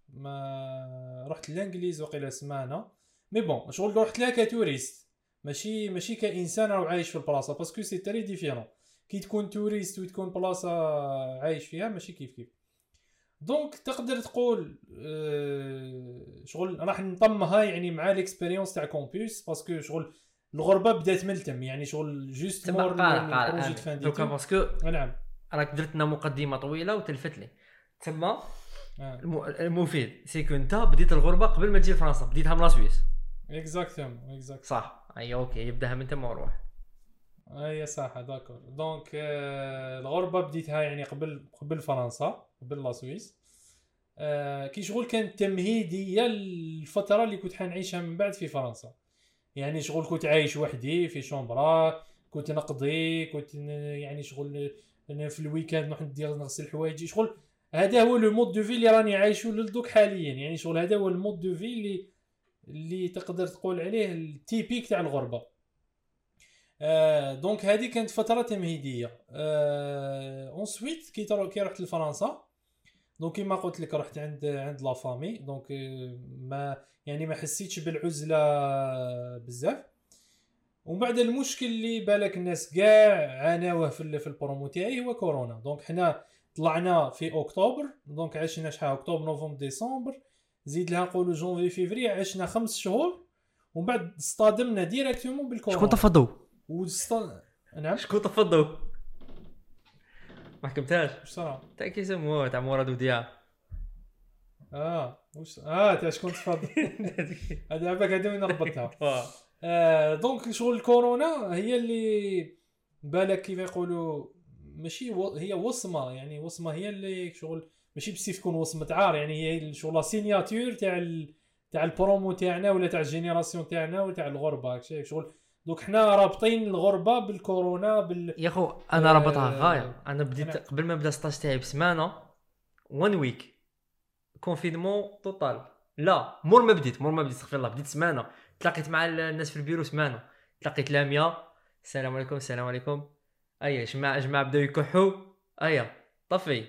ما رحت للانجليز وقيله سمانه مي بون شغل رحت لها كتوريست ماشي ماشي كانسان راه عايش في البلاصه باسكو سي تري ديفيرون كي تكون توريست وتكون بلاصه عايش فيها ماشي كيف كيف دونك تقدر تقول أه شغل راح نطمها يعني مع ليكسبيريونس تاع كومبوس باسكو شغل الغربه بدات من تم يعني شغل جوست مور بروجي فان دي تو باسكو نعم راك درت لنا مقدمه طويله وتلفت لي تما المفيد سي كو انت بديت الغربه قبل ما تجي لفرنسا بديتها من لا سويس اكزاكتومون اكزاكت صح اي اوكي يبداها من تما وروح اي صح داكور دونك آه الغربه بديتها يعني قبل قبل فرنسا قبل لا سويس آه كي شغل كانت تمهيديه الفتره اللي كنت حنعيشها من بعد في فرنسا يعني شغل كنت عايش وحدي في شومبرا كنت نقضي كنت يعني شغل انا في الويكاند نروح ندير نغسل حوايجي شغل هذا هو لو مود دو في اللي راني عايشه للدوك حاليا يعني شغل هذا هو المود دو في اللي اللي تقدر تقول عليه التيبيك تاع الغربه آه دونك هذه كانت فتره تمهيديه آه اونسويت كي كي رحت لفرنسا دونك كيما قلت لك رحت عند عند لا فامي دونك ما يعني ما حسيتش بالعزله بزاف ومن بعد المشكل اللي بالك الناس كاع عاناوه في في البرومو تاعي هو كورونا دونك حنا طلعنا في اكتوبر دونك عشنا شحال اكتوبر نوفمبر ديسمبر زيد لها نقولوا جونفي فيفري عشنا خمس شهور ومن بعد اصطدمنا ديريكتومون بالكورونا شكون تفضوا وست... نعم شكون تفضوا ما حكمتهاش واش صرا تاع كيسموه تاع مراد وديا اه واش اه تاع شكون تفضل هذا عباك هذا وين ربطتها آه دونك شغل الكورونا هي اللي بالك كيف يقولوا ماشي و... هي وصمه يعني وصمه هي اللي شغل ماشي بس تكون وصمه عار يعني هي شغل لا سيناتور تاع ال... تاع البرومو تاعنا ولا تاع الجينيراسيون تاعنا ولا تاع الغربه هكذا شغل دونك حنا رابطين الغربه بالكورونا بال يا خو انا آه رابطها غايه انا بديت أنا... قبل ما بدا ستاج تاعي بسمانه وان ويك كونفينمون توتال لا مور ما بديت مور ما بديت استغفر الله بديت سمانه تلاقيت مع الناس في البيرو سمانه تلاقيت لاميا السلام عليكم السلام عليكم ايا جماعه جماعه بداو يكحوا ايا طفي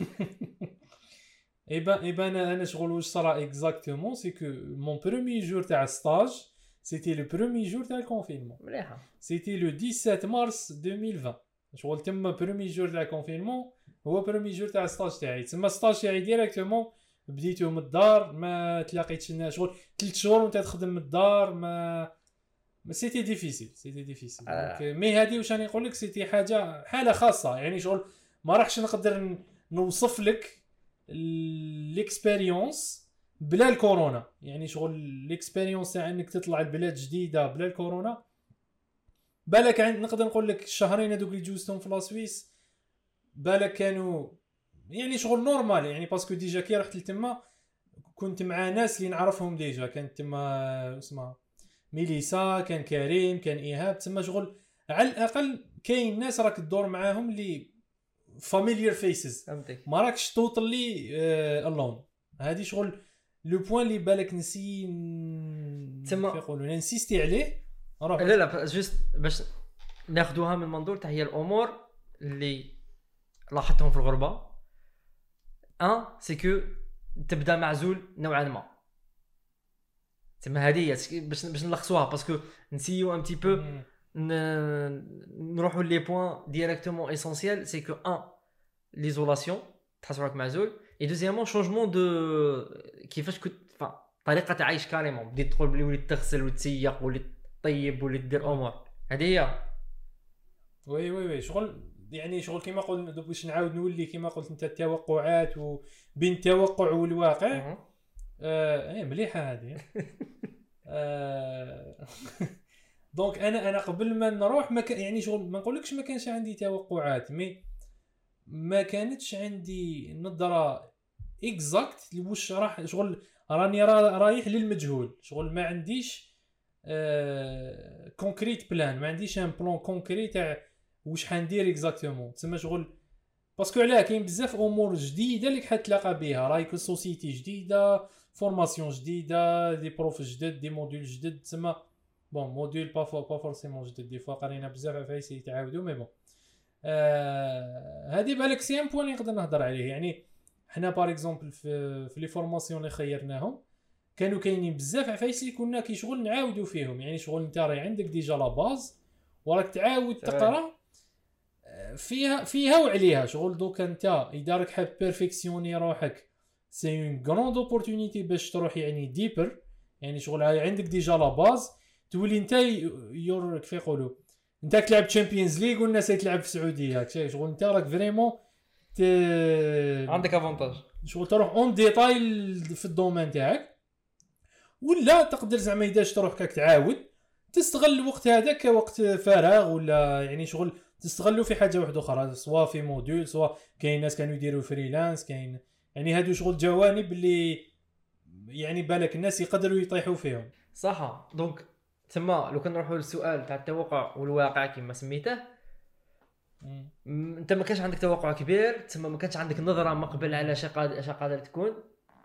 ايبا ايبا انا انا شغل واش صرا اكزاكتومون سي كو مون بروميي جور تاع ستاج سيتي لو بروميي جور تاع الكونفينمون مليحه سيتي لو سبعطاش مارس ألفين وعشرين شغل تما بروميي جور تاع الكونفينمون هو بروميي جور تاع ستاج تاعي تما ستاج تاعي ديريكتومون بديتو من الدار ما تلاقيتش شغل ثلاث شهور وانت تخدم من الدار ما ما سيتي ديفيسيل سيتي ديفيسيل آه. مي هذه واش راني نقول لك سيتي حاجه حاله خاصه يعني شغل ما راحش نقدر نوصف لك الاكسبيريونس بلا الكورونا يعني شغل الاكسبيريونس تاع انك تطلع لبلاد جديده بلا الكورونا بالك عند نقدر نقول لك الشهرين هذوك اللي جوزتهم في لا سويس بالك كانوا يعني شغل نورمال يعني باسكو ديجا كي رحت لتما كنت مع ناس اللي نعرفهم ديجا كانت تما اسمها ميليسا كان كريم كان ايهاب تما شغل على الاقل كاين ناس راك تدور معاهم اللي فاميليير فيسز ما راكش توتالي الون هذه شغل لو بوين اللي بالك نسي تما يقولوا نسيستي عليه لا لا جوست باش ناخذوها من منظور تاع هي الامور اللي لاحظتهم في الغربه ان سي كو تبدا معزول نوعا ما تما هذه باش باش نلخصوها باسكو نسيو ان تي بو نروحوا لي بوين ديريكتومون اسونسيال سي كو ان ليزولاسيون تحس راك معزول اي دوزيامون شونجمون دو كيفاش كنت طريقه تعيش كاريمون بديت تقول بلي وليت تغسل وتسيق وليت طيب وليت دير امور هذه هي وي وي وي شغل يعني شغل كيما قلت باش نعاود نولي كيما قلت انت التوقعات وبين التوقع والواقع اه اي مليحه هذه آه دونك انا انا قبل ما نروح ما كان يعني شغل ما نقولكش ما كانش عندي توقعات مي ما كانتش عندي نظره اكزاكت واش راح شغل راني رايح للمجهول شغل ما عنديش آه كونكريت بلان ما عنديش ان بلان كونكري تاع واش حندير اكزاكتومون تسمى شغل باسكو علاه كاين بزاف امور جديده اللي حتلاقى بها رايك سوسيتي جديده فورماسيون جديده دي بروف جدد دي موديول جدد تسمى بون موديول با فو با فورسيمون جدد دي فوا قرينا بزاف عفايس يتعاودوا مي بون آه هذه بالك سي ان بوين نقدر نهضر عليه يعني حنا باغ اكزومبل في في لي فورماسيون اللي خيرناهم كانوا كاينين بزاف عفايس اللي كنا كيشغل نعاودوا فيهم، يعني شغل انت راهي عندك ديجا لا باز وراك تعاود تقرا فيها فيها وعليها شغل. دوك انت اذا راك حاب بيرفيكسيوني روحك سي اون غروند اوبورتونيتي باش تروح يعني ديبر، يعني شغل عندك ديجا لا باز تولي انت يور كيف يقولوا انت تلعب تشامبيونز ليغ والناس تلعب في السعوديه شغل انت راك فريمون ت... عندك افونتاج شغل تروح اون ديتاي في الدومين تاعك، ولا تقدر زعما اذا تروح كاك تعاود تستغل الوقت هذا كوقت فراغ، ولا يعني شغل تستغلوا في حاجه واحده اخرى سواء في موديول سواء كاين ناس كانوا يديروا فريلانس كاين يعني هادو شغل جوانب اللي يعني بالك الناس يقدروا يطيحوا فيهم صح. دونك تما لو كنروحوا للسؤال تاع التوقع والواقع كما سميته، انت ما كانش عندك توقع كبير تما ما كانش عندك نظره مقبل على اش قادر تكون،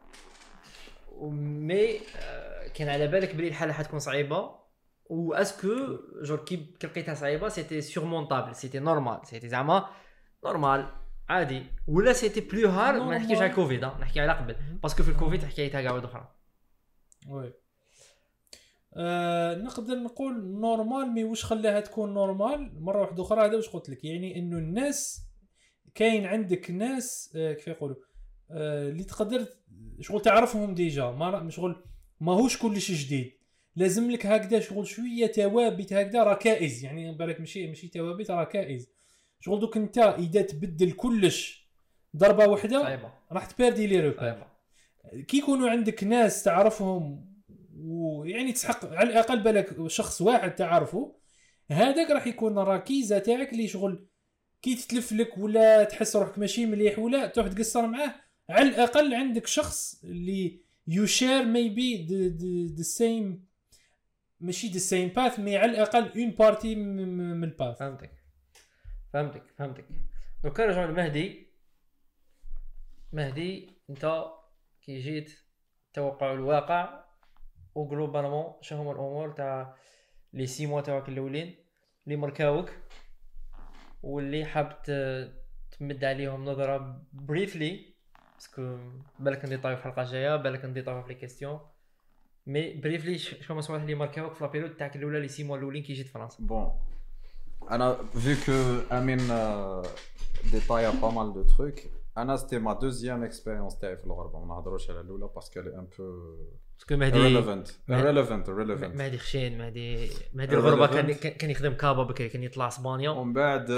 مي كان على بالك بلي الحاله حتكون صعيبه و اسكو جور كي لقيتها صعيبه سيتي سورمونطابل سيتي نورمال سيتي زعما نورمال عادي، ولا سيتي بلو هارد. ما نحكيش على كوفيد نحكي على قبل باسكو في الكوفيد حكايتها كاع واحده اخرى. وي أه نقدر نقول نورمال، مي واش خلاها تكون نورمال مره واحده اخرى هذا واش قلت لك، يعني انه الناس كاين عندك ناس أه كيف يقولوا أه اللي تقدر شغل تعرفهم ديجا ما شغل ماهوش كلشي جديد، لازم لك هكذا شغل شويه توابت هكذا ركائز، يعني بالك ماشي ماشي توابت ركائز شغل. دوك انت اذا تبدل كلش ضربه واحده راح تبردي لي روبير. كي يكونوا عندك ناس تعرفهم ويعني تسحق على الاقل بالك شخص واحد تعرفه، هذاك راح يكون الركيزه تاعك اللي شغل كي تتلف لك ولا تحس روحك ماشي مليح ولا تروح تقصر معاه، على الاقل عندك شخص اللي يو شير ميبي ذا سيم ماشي ذا سيم باث مي على الاقل اون بارتي من الباث. فهمتك فهمتك فهمتك دونك كنرجعوا لمهدي. مهدي انت كي جيت توقع الواقع وغلوبالمون شنو هما الامور تاع لي سي موا تاعك الاولين اللي مركاوك واللي حاب تمد عليهم نظره بريفلي باسكو بالك ندي طايف الحلقه الجايه بالك ندي طايف في لي كيستيون مي بريفلي شنو هما الصوالح اللي مركاوك في لابيريود تاعك الاولى لي سي موا الاولين كي جيت فرنسا. بون انا vu que Amine détaille pas mal de trucs, انا c'était ma deuxième expérience تاعي في الغربه، ما نهضروش على الاولى باسكو لي ان بو باسكو مهدي relevant relevant relevant مهدي خشين مهدي مهدي الغربه كان كان يخدم كابا بكري كان يطلع اسبانيا ومن بعد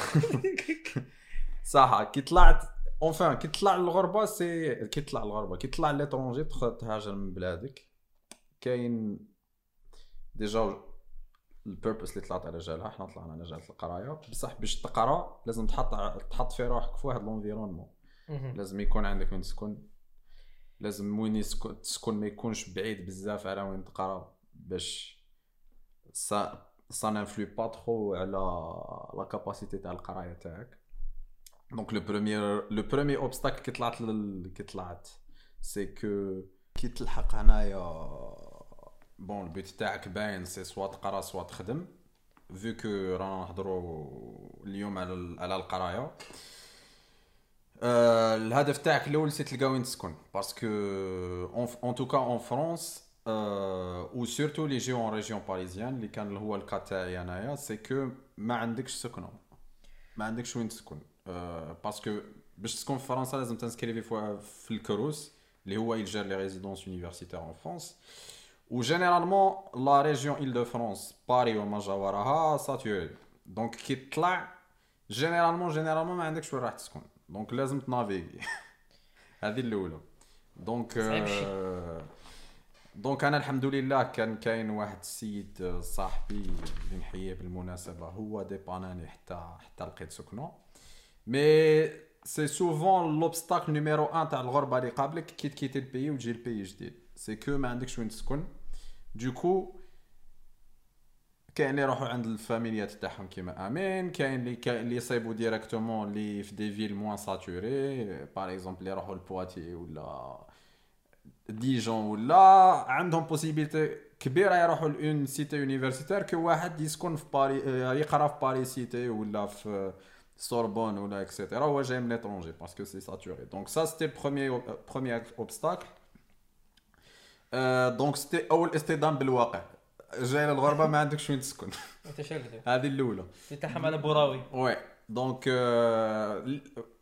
صح كي طلعت اونفان كي طلع الغربه سي كي طلع الغربه كي طلع ليترونجي تهاجر من بلادك كاين ديجا البيربس اللي طلعت على جالها. احنا طلعنا على جال القرايه بصح باش تقرا لازم تحط تحط في روحك في واحد لونفيرونمون، لازم يكون عندك وين تسكن، لازم وين تسكن ما يكونش بعيد بزاف على وين تقرا باش سا سا نانفلو با ترو على لا كاباسيتي تاع القرايه تاعك. دونك لو بروميير لو بروميير اوبستاكل كي طلعت لل... كي طلعت سي كو كي تلحق هنايا بون البيت تاعك باين سي سوا تقرا سوا تخدم vu que رانا نهضروا اليوم على على القرايه. أه الهدف تاعك الاول سي تلقى وين تسكن باسكو اون توكا اون فرانس او سورتو لي جيو اون ريجيون باريزيان اللي كان هو الكا تاعي انايا سي كو ما عندكش سكنه ما عندكش وين تسكن. أه باسكو باش تسكن في فرنسا لازم تنسكريفي في الكروس اللي هو يجر لي ريزيدونس يونيفرسيتير اون فرانس و جينيرالمون لا ريجيون إل دو فرانس باري وما جاوراها ساتوري. دونك كي تطلع جينيرالمون جينيرالمون ما عندكش وين راح تسكن، دونك لازم تنافيغي هذه الاولى. دونك آه دونك انا الحمد لله كان كاين واحد السيد صاحبي اللي نحييه بالمناسبه هو ديباناني حتى حتى لقيت سكنه. مي سي سوفون لوبستاكل نيميرو واحد تاع الغربه اللي قبلك كي تكيتي البي وتجي البي جديد سي كو ما عندكش وين تسكن. دوكو كاين اللي يروحوا عند الفاميليات تاعهم كيما امين، كاين اللي كاين اللي يصيبوا ديريكتومون اللي في دي فيل موان ساتوري باغ اكزومبل اللي يروحوا لبواتي ولا ديجون ولا عندهم بوسيبيليتي كبيره يروحوا لون سيتي يونيفرسيتير كو واحد يسكن في باري يقرا في باري سيتي ولا في Sorbonne ou là, et cetera. Ouais, j'aime l'étranger parce que c'est saturé. Donc ça, c'était le premier, ob- euh, premier obstacle. Euh, donc c'était أول اصطدام بالواقع. جاي للغربة ما عندكش وين تسكن. انت شاكدو هذه الأولى. تتحم على بوراوي. Ouais. Donc euh, ل-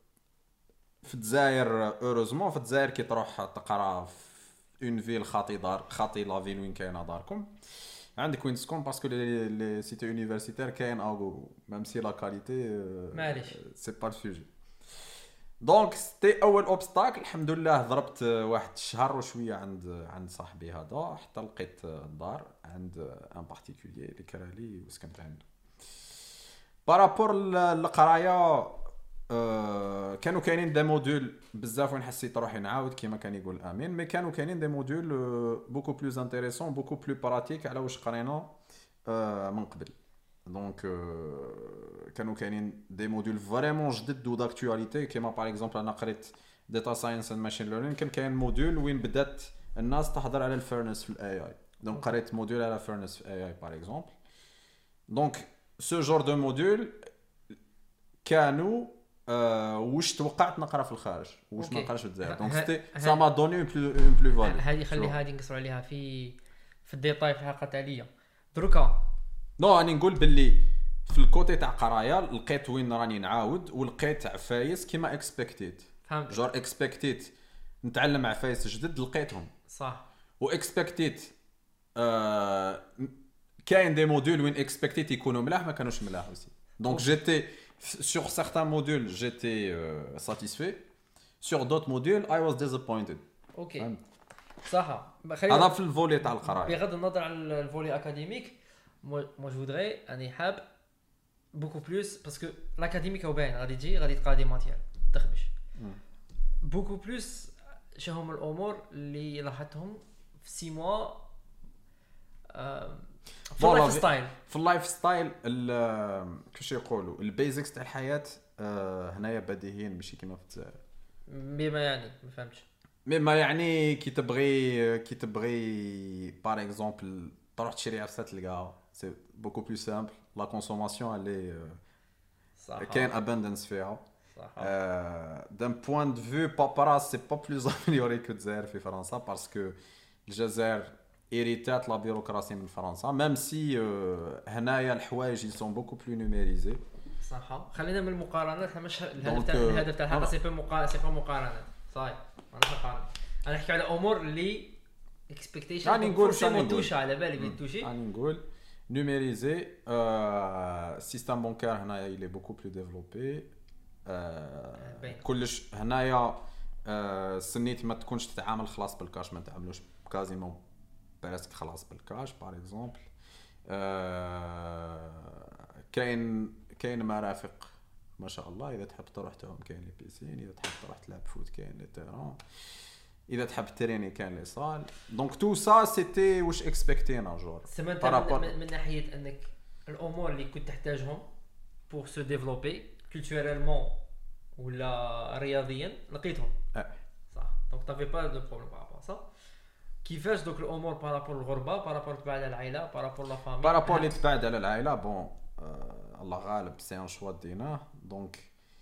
في الجزائر اوروزمون في الجزائر كي تروح تقرا في اون فيل خاطي دار خاطي لا فيل وين كاينه داركم عندك وين تسكن باسكو لي لي سيتي يونيفرسيتير كاين اوغو ميم سي لا كاليتي معليش. سي با سوجي. دونك سيتي اول اوبستاكل الحمد لله ضربت واحد الشهر وشويه عند عند صاحبي هذا حتى لقيت الدار عند ان بارتيكولير اللي كرا لي وسكنت عنده. بارابور للقرايه أه كانوا كاينين دي موديول بزاف وين حسيت روحي نعاود كيما كان يقول امين مي كانوا كاينين دي موديول بوكو بلوز انتريسون بوكو بلو براتيك على واش قرينا أه من قبل. دونك أه كانوا كاينين دي موديول فريمون جدد و داكتواليتي كيما باغ اكزومبل انا قريت داتا ساينس اند ماشين ليرنينغ كان كاين موديول وين بدات الناس تهضر على الفيرنس في الاي اي. دونك قريت موديول على فيرنس في الاي اي باغ اكزومبل. دونك سو جور دو موديول كانوا أه واش توقعت نقرا في الخارج واش ما أوكي. نقراش في الجزائر. ه- دونك ه- سيتي ه- سا ما دوني اون بلو اون بلو فالي. هذه خلي هذه نقصروا عليها في في الديتاي في الحلقه التاليه. دروكا نو راني نقول باللي في الكوتي تاع قرايه لقيت وين راني نعاود ولقيت عفايس كيما اكسبكتيت فهمت جور اكسبكتيت نتعلم عفايس جدد لقيتهم صح. واكسبكتيت آه كاين دي موديول وين اكسبكتيت يكونوا ملاح ما كانوش ملاح aussi. Donc j'étais sur certains modules j'étais euh, satisfait sur d'autres modules I was disappointed. اوكي فهمت؟ صح. هذا خلينا في الفولي تاع القرايه. بغض النظر عن الفولي اكاديميك مو جو فودري اني حاب بوكو بلوس باسكو الاكاديميك هو باين غادي تجي غادي تلقى دي ماتير تخبش بوكو بلوس. شنو هما الامور اللي لاحظتهم في سي موا في فوالا، اللايف ستايل؟ في اللايف ستايل ال- كيفاش يقولوا البيزكس تاع الحياه آه، هنايا بديهيين ماشي كيما في الجزائر. بما يعني ما فهمتش. مي ما يعني كي تبغي كي تبغي بار اكزومبل تروح تشري عفسه تلقاها سي بوكو بلو سامبل لا كونسوماسيون اللي صح كاين اباندنس فيها. صح. دان بوين دو فيو بابراس سي با بلوز اميليوري كو الجزائر في فرنسا باسكو الجزائر ايريتات لا بيروقراسي من فرنسا ميم سي هنايا الحوايج يسون بوكو بلو نوميريزي. صح. خلينا من المقارنات. احنا مش الهدف دونك، تاع الهدف تاع الحلقه فوالا. سي با مقارنه سي با مقارنات صاير. انا نقارن انا نحكي على امور اللي اكسبكتيشن راني نقول سي راني نقول. توشا على بالي بيتوشي. راني نقول نوميريزي السيستم بانكار هنايا il est beaucoup plus développé. آه، باين. كلش هنايا آه، سنيت ما تكونش تتعامل خلاص بالكاش ما تعملوش كازيمون براسك خلاص بالكاش باغ اكزومبل. كاين كاين مرافق ما شاء الله اذا تحب تروح تهم كاين لي بيسين اذا تحب تروح تلعب فوت كاين لي تيران اذا تحب تريني كاين لي صال. دونك تو سا سيتي واش اكسبكتينا جور سمعت بارابور. من, من ناحيه انك الامور اللي كنت تحتاجهم بور سو ديفلوبي كولتوريلمون ولا رياضيا لقيتهم. اه صح. دونك تافي با دو بروبليم بارابور صح. كيفاش دوك الامور بارابور الغربه بارابور تبع على العائله بارابور لا فامي بارابور اللي تبعد على العائله بون آه الله غالب سي ان شوا ديناه. دونك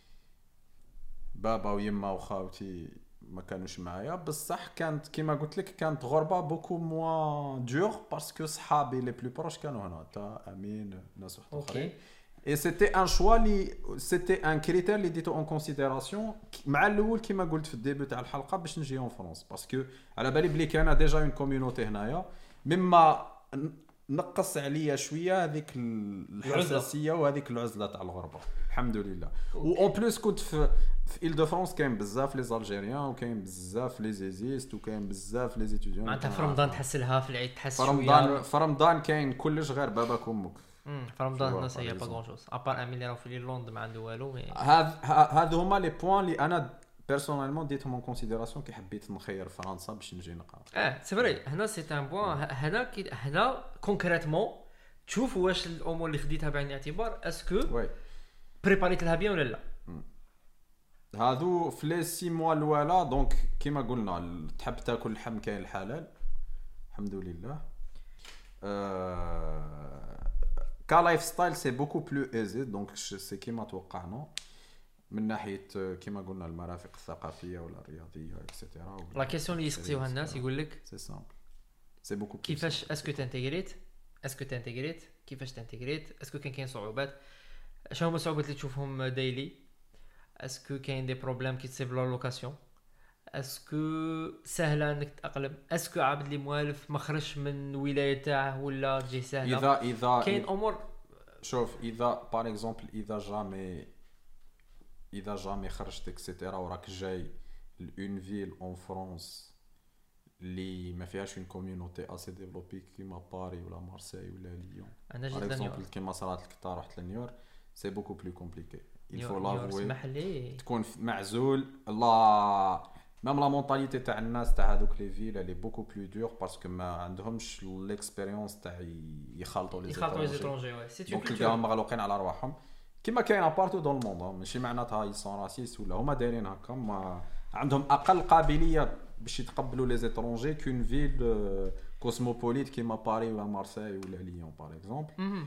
بابا ويما وخاوتي ما كانوش معايا بصح كانت كيما قلت لك كانت غربه بوكو موا دور باسكو صحابي لي بلو بروش كانوا هنا تا امين ناس واحد اخرين. Et c'était un choix li c'était un critère اللي ديتو en considération مع الاول كيما قلت في الديبي تاع الحلقه باش نجي اون فرنسا باسكو على بالي بلي كاينه ديجا اون كوميونيتي هنايا مما نقص عليا شويه هذيك الحساسيه وهذيك العزله تاع الغربه الحمد لله. و اون بليس كنت في في إل دو فرانس كاين بزاف لي زالجيريان وكاين بزاف لي زيزيست وكاين بزاف لي زيتيديون. معناتها في رمضان تحس لها في العيد تحس في شويه. رمضان في رمضان كاين كلش غير باباك وامك. امم في رمضان الناس هي با باغ غون شوز ابار امين اللي راه في ليرلاند ما عنده والو مي هذ هذ هما لي بوين اللي انا بيرسونيلمون ديتهم اون كونسيديراسيون كي حبيت نخير فرنسا باش نجي نقرا. اه سي فري. هنا سي ان بوين هنا كي هنا كونكريتمون تشوف واش الامور اللي خديتها بعين الاعتبار اسكو وي بريباريت لها بيان ولا لا. هادو في لي سي موا الاولى دونك كيما قلنا تحب تاكل اللحم كاين الحلال الحمد لله. أه كلايف ستايل سي بوكو بلو ايزي دونك سي كيما توقعنا من ناحيه كيما قلنا المرافق الثقافيه ولا الرياضيه اكسيتيرا. لا كيسيون اللي يسقسيوها الناس يقول لك سي سامبل سي بوكو كيفاش اسكو تانتيغريت اسكو تانتيغريت كيفاش تانتيغريت اسكو كان كاين صعوبات شنو هما الصعوبات اللي تشوفهم دايلي اسكو كاين دي بروبليم كي تصيب لا لوكاسيون اسكو سهله انك تاقلم اسكو عبد اللي موالف ما خرجش من ولايه تاعه ولا تجي سهله اذا اذا كاين امور شوف اذا بار اكزومبل اذا جامي اذا جامي خرجت اكسيتيرا وراك جاي لون فيل اون فرانس اللي ما فيهاش اون كوميونيتي اسي ديفلوبي كيما باري ولا مارسيل ولا ليون انا جيت بار لنيويورك اكزومبل كيما صرات لك تا رحت لنيويورك سي بوكو بلو كومبليكي il faut نيويورك l'avouer اسمح لي تكون معزول لا ميم لا مونطاليتي تاع الناس تاع هذوك لي فيل اللي بوكو بلو دور باسكو ما عندهمش ليكسبيريونس تاع يخالطوا لي يخاطروا لي زيترونجي وي سي دونك تلقاهم مغلوقين على رواحهم كيما كاين بارتو دون الموند ماشي معناتها يسون راسيست ولا هما دايرين هكا ما عندهم اقل قابليه باش يتقبلوا لي زيترونجي كون فيل كوسموبوليت كيما باري ولا مارسيل ولا ليون بار اكزومبل.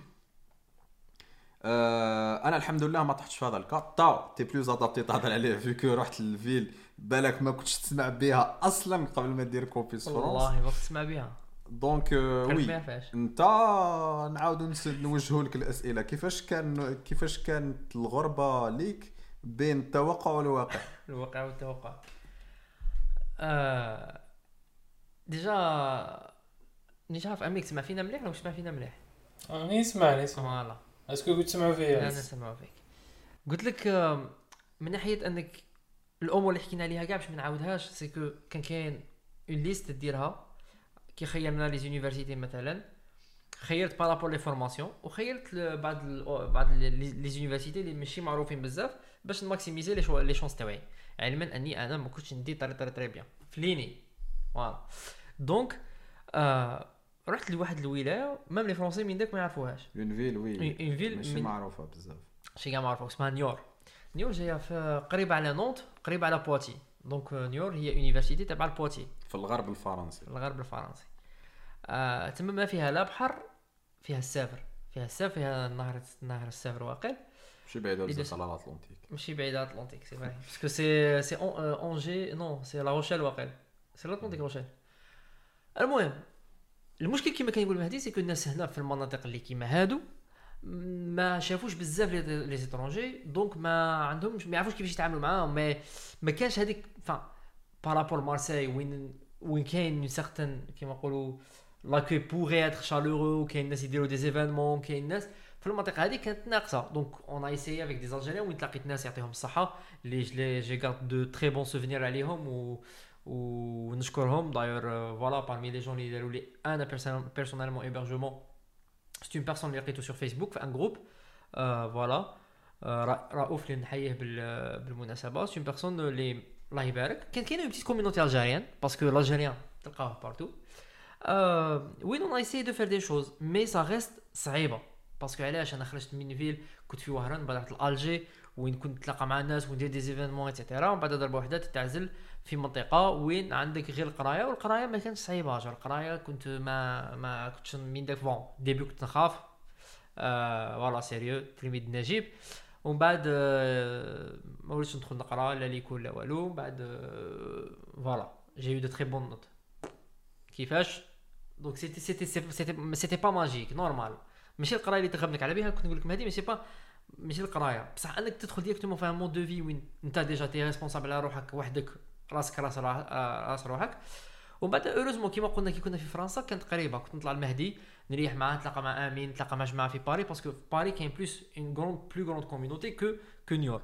أه انا الحمد لله ما طحتش في هذا الكا تا تي بلوز ادابتي تهضر عليه فيكو رحت للفيل بالك ما كنتش تسمع بها اصلا قبل ما دير كوبيس فرونس والله ما تسمع بها دونك وي فاش انت نعاودوا نوجهوا لك الاسئله كيفاش كان كيفاش كانت الغربه ليك بين التوقع والواقع. الواقع والتوقع آه... ديجا نيش عارف اميك تسمع فينا مليح ولا مش تسمع فينا مليح؟ انا نسمع نسمع فوالا اسكو كنت تسمعوا فيا؟ لا نسمعوا فيك. قلت لك آه، من ناحيه انك الامور اللي حكينا عليها كاع باش ما نعاودهاش سيكو كان كاين اون ليست ديرها كي خيرنا لي زونيفرسيتي مثلا خيرت بارابور لي فورماسيون وخيرت بعض ال بعض لي زونيفرسيتي اللي ماشي معروفين بزاف باش نماكسيميزي لي لي شونس تاعي علما اني انا ما كنتش ندي طري طري طري بيان فليني فوالا دونك آه رحت لواحد الولايه ميم لي فرونسي من داك ما يعرفوهاش اون فيل وي اون فيل ماشي معروفه بزاف شي كاع معروفه اسمها نيور. نيور جايه في قريبه على نونت قريبه على بواتي دونك نيور هي يونيفرسيتي تبع البواتي في الغرب الفرنسي الغرب الفرنسي. آه تما ما فيها لا بحر فيها السافر فيها السافر فيها نهر نهر السافر واقل ماشي بعيد على الأطلنطيك ماشي بعيد على الأطلنطيك سي فري باسكو سي سي اونجي نو سي لا روشيل واقل سي الأطلنطيك روشيل. المهم المشكل كما كان يقول مهدي سي كو الناس هنا في المناطق اللي كيما هادو ما شافوش بزاف لي زيترونجي دونك ما عندهمش ما يعرفوش كيفاش يتعاملوا معاهم ما ما كانش هذيك فا بارابور مارسيل وين وين كاين سيغتان كيما نقولوا لاكوي بوغي اتر شالورو وكاين الناس يديروا دي زيفينمون كاين الناس في المنطقه هذه كانت ناقصه دونك اون ايساي افيك دي زالجيريان وين تلاقيت ناس يعطيهم الصحه لي جي غارد دو تري بون سوفينير عليهم و ونشكرهم داير فوالا بارمي لي جون اللي داروا لي انا بيرسونيلمون هيبرجمون سي اون بيرسون اللي لقيتو سور فيسبوك في ان جروب فوالا رؤوف اللي نحييه بالمناسبه سي اون بيرسون اللي الله يبارك كان كاينه اون بتيت كوميونيتي الجيريان باسكو الجيريان تلقاوه بارتو وين اون ايساي دو فير دي شوز مي سا ريست صعيبه باسكو علاش انا خرجت من فيل كنت في وهران بعد رحت لالجي وين كنت نتلاقى مع الناس وندير دي زيفينمون ايتترا ومن بعد ضربه وحده تتعزل في منطقه وين عندك غير القرايه والقرايه ما كانتش صعيبه جا القرايه كنت ما ما كنتش من داك بون ديبي كنت نخاف آه فوالا سيريو تلميذ نجيب ومن بعد آه ما وليتش ندخل نقرا لا ليكول لا والو بعد فوالا جي يو دو تري بون نوت كيفاش دونك سيتي سيتي سيتي سيتي با ماجيك نورمال ماشي القرايه اللي تخممك على بها كنت نقول لك مهدي ماشي با ماشي القرايه بصح انك تدخل ديريكتومون في ان مود دو في وين انت ديجا تي ريسبونسابل على روحك وحدك راسك راس راس روحك ومن بعد اوروزمون كيما قلنا كي كنا في فرنسا كانت قريبه كنت نطلع المهدي نريح معاه نتلاقى مع امين نتلاقى مع جماعه في باري باسكو في باري كاين بلوس اون غروند بلو غروند كوميونيتي كو كو نيور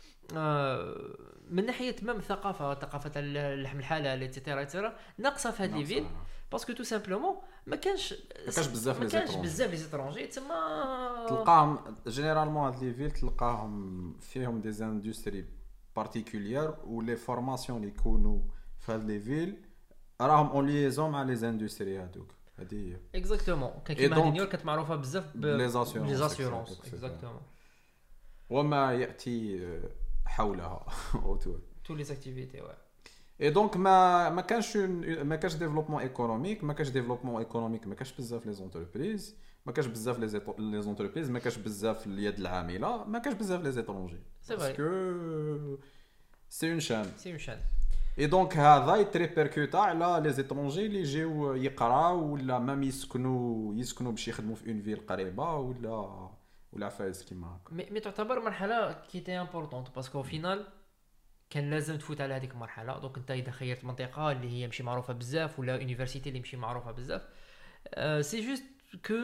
آه من ناحيه ميم الثقافه ثقافه اللحم الحلال ايتترا ايتترا ناقصه في هاد لي فيل باسكو تو سامبلومون ما كانش ما كانش بزاف لي ما كانش بزاف لي زيترونجي تما تلقاهم جينيرالمون هاد لي فيل تلقاهم فيهم دي اندستري بارتيكولير و لي فورماسيون اللي يكونوا في هاد لي فيل راهم اون ليزون مع لي اندستري هادوك هادي هي اكزاكتومون كان كيما نيويورك كانت معروفه بزاف بلي زاسيورونس لي زاسيورونس اكزاكتومون وما ياتي حولها اوتور تو لي اكتيفيتي وا اي دونك ما ما كانش ما كانش ديفلوبمون ايكونوميك ما كانش ديفلوبمون ايكونوميك ما كانش بزاف لي زونتربريز ما كاش بزاف لي لي زونتربريز ما كاش بزاف اليد العامله ما كاش بزاف لي زيترونجي سي باسكو سي اون شان سي اون شان اي دونك هذا يتريبيركوتا على لي زيترونجي اللي يجيو يقراو ولا مام يسكنوا يسكنوا باش يخدموا في اون فيل قريبه ولا ولا فايز كيما هكا. مي مي تعتبر مرحله كي تي امبورطونط باسكو فينال كان لازم تفوت على هذيك المرحله. دونك انت اذا خيرت منطقه اللي هي ماشي معروفه بزاف ولا يونيفرسيتي اللي ماشي معروفه بزاف أه سي جوست كو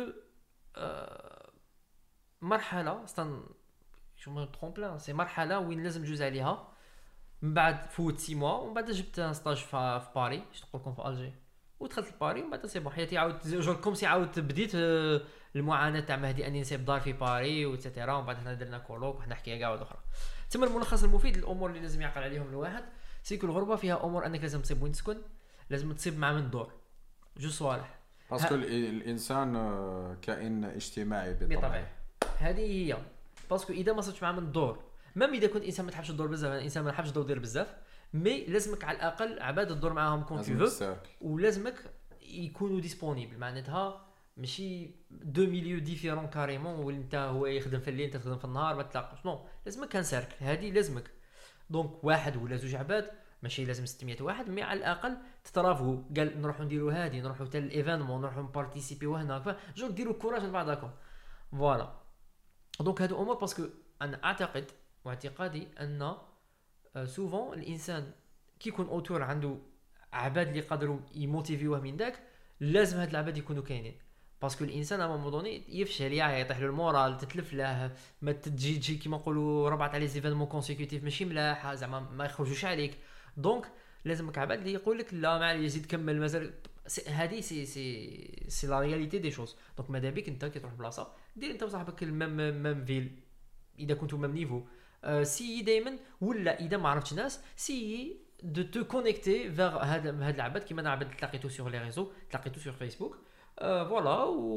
أه مرحله استن شو مو ترومبلان سي مرحله وين لازم جوز عليها. من بعد فوت ستة موا ومن بعد جبت ستاج في باري باش نقول لكم في الجي ودخلت لباري ومن بعد سي بون حياتي عاود جور كوم سي عاود بديت المعاناه تاع مهدي اني نسيب دار في باري وتسيتيرا. ومن بعد حنا درنا كولوك وحنا حكايه كاع واحده اخرى. تما الملخص المفيد للامور اللي لازم يعقل عليهم الواحد سيكو الغربه فيها امور انك لازم تصيب وين تسكن لازم تصيب مع من دور جو صوالح باسكو الانسان كائن اجتماعي بطبعه. هذه هي باسكو اذا ما صرتش مع من الدور ميم اذا كنت انسان ما تحبش الدور بزاف الانسان ما يحبش الدور دير بزاف مي لازمك على الاقل عباد الدور معاهم كون تو فو ولازمك يكونوا ديسپونيبل معناتها ماشي دو ميليو ديفيرون كاريمون وانت هو يخدم في الليل انت تخدم في النهار ما تلاقاش نو لازمك كان سيركل هذه لازمك. دونك واحد ولا زوج عباد ماشي لازم ستمية واحد مي على الاقل تترافقوا قال نروحوا نديروا هذه نروحوا حتى الايفينمون نروحوا نبارتيسيبيو هنا جو ديروا كوراج لبعضكم فوالا. دونك هادو امور باسكو انا اعتقد واعتقادي ان سوفون الانسان كي يكون اوتور عنده عباد اللي يقدروا يموتيفيوه من داك لازم هاد العباد يكونوا كاينين باسكو الانسان اما مودوني يفشل يعني يطيح له المورال تتلف له ما تجي تجي كيما نقولوا ربعه تاع لي زيفينمون كونسيكوتيف ماشي ملاح زعما ما يخرجوش عليك. دونك لازمك عباد اللي يقول لك لا ما عليه يزيد كمل مازال هذه سي سي سي لا رياليتي دي شوز. دونك ماذا بك انت كي تروح بلاصه دير انت وصاحبك الميم ميم فيل اذا كنتوا ميم نيفو أه سي دائما ولا اذا ما عرفتش ناس سي دو تو كونيكتي فيغ هذا هاد العباد كيما انا عباد تلاقيتو سور لي ريزو تلاقيتو سور فيسبوك فوالا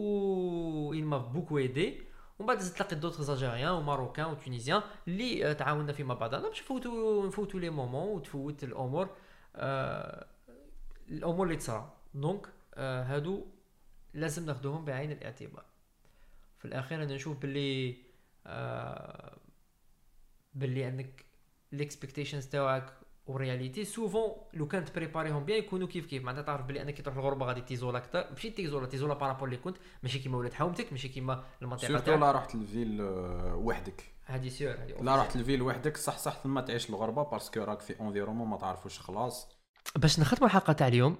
و il m'a beaucoup aidé. ومن بعد تلاقيت دوطخ الجزائريين وماروكان وتونيزيان اللي تعاوننا فيما بعضنا باش نفوتوا نفوتوا لي مومون وتفوت الامور أه الامور اللي تصرا. دونك أه هادو لازم ناخذوهم بعين الاعتبار. في الاخير انا نشوف باللي أه باللي عندك الاكسبكتيشنز تاعك ورياليتي سوفون لو كانت بريباريهم بيان يكونوا كيف كيف معناتها تعرف بلي انك تروح الغربه غادي تيزولا اكثر ماشي تيزولا تيزولا بارابور اللي كنت ماشي كيما ولاد حومتك ماشي كيما المنطقه تاعك سورتو لا رحت للفيل وحدك هادي سيور هادي لا رحت للفيل وحدك صح صح ثم تعيش الغربه باسكو راك في انفيرومون ما تعرفوش خلاص. باش نختموا الحلقه تاع اليوم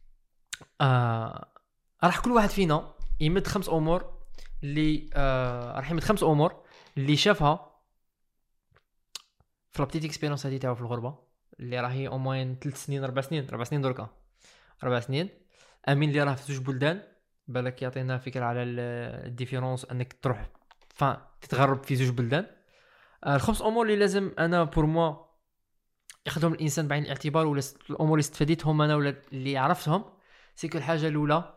آه راح كل واحد فينا يمد خمس امور اللي آه راح يمد خمس امور اللي شافها في لابتيت اكسبيريونس هذه تاعو في الغربه اللي راهي او موين ثلاث سنين اربع سنين اربع سنين دركا اربع سنين. امين اللي راه في زوج بلدان بالك يعطينا فكره على الديفيرونس انك تروح فان تتغرب في زوج بلدان. الخمس امور اللي لازم انا بور موا ياخذهم الانسان بعين الاعتبار ولا الامور اللي استفديتهم انا ولا اللي عرفتهم سي كل حاجه الاولى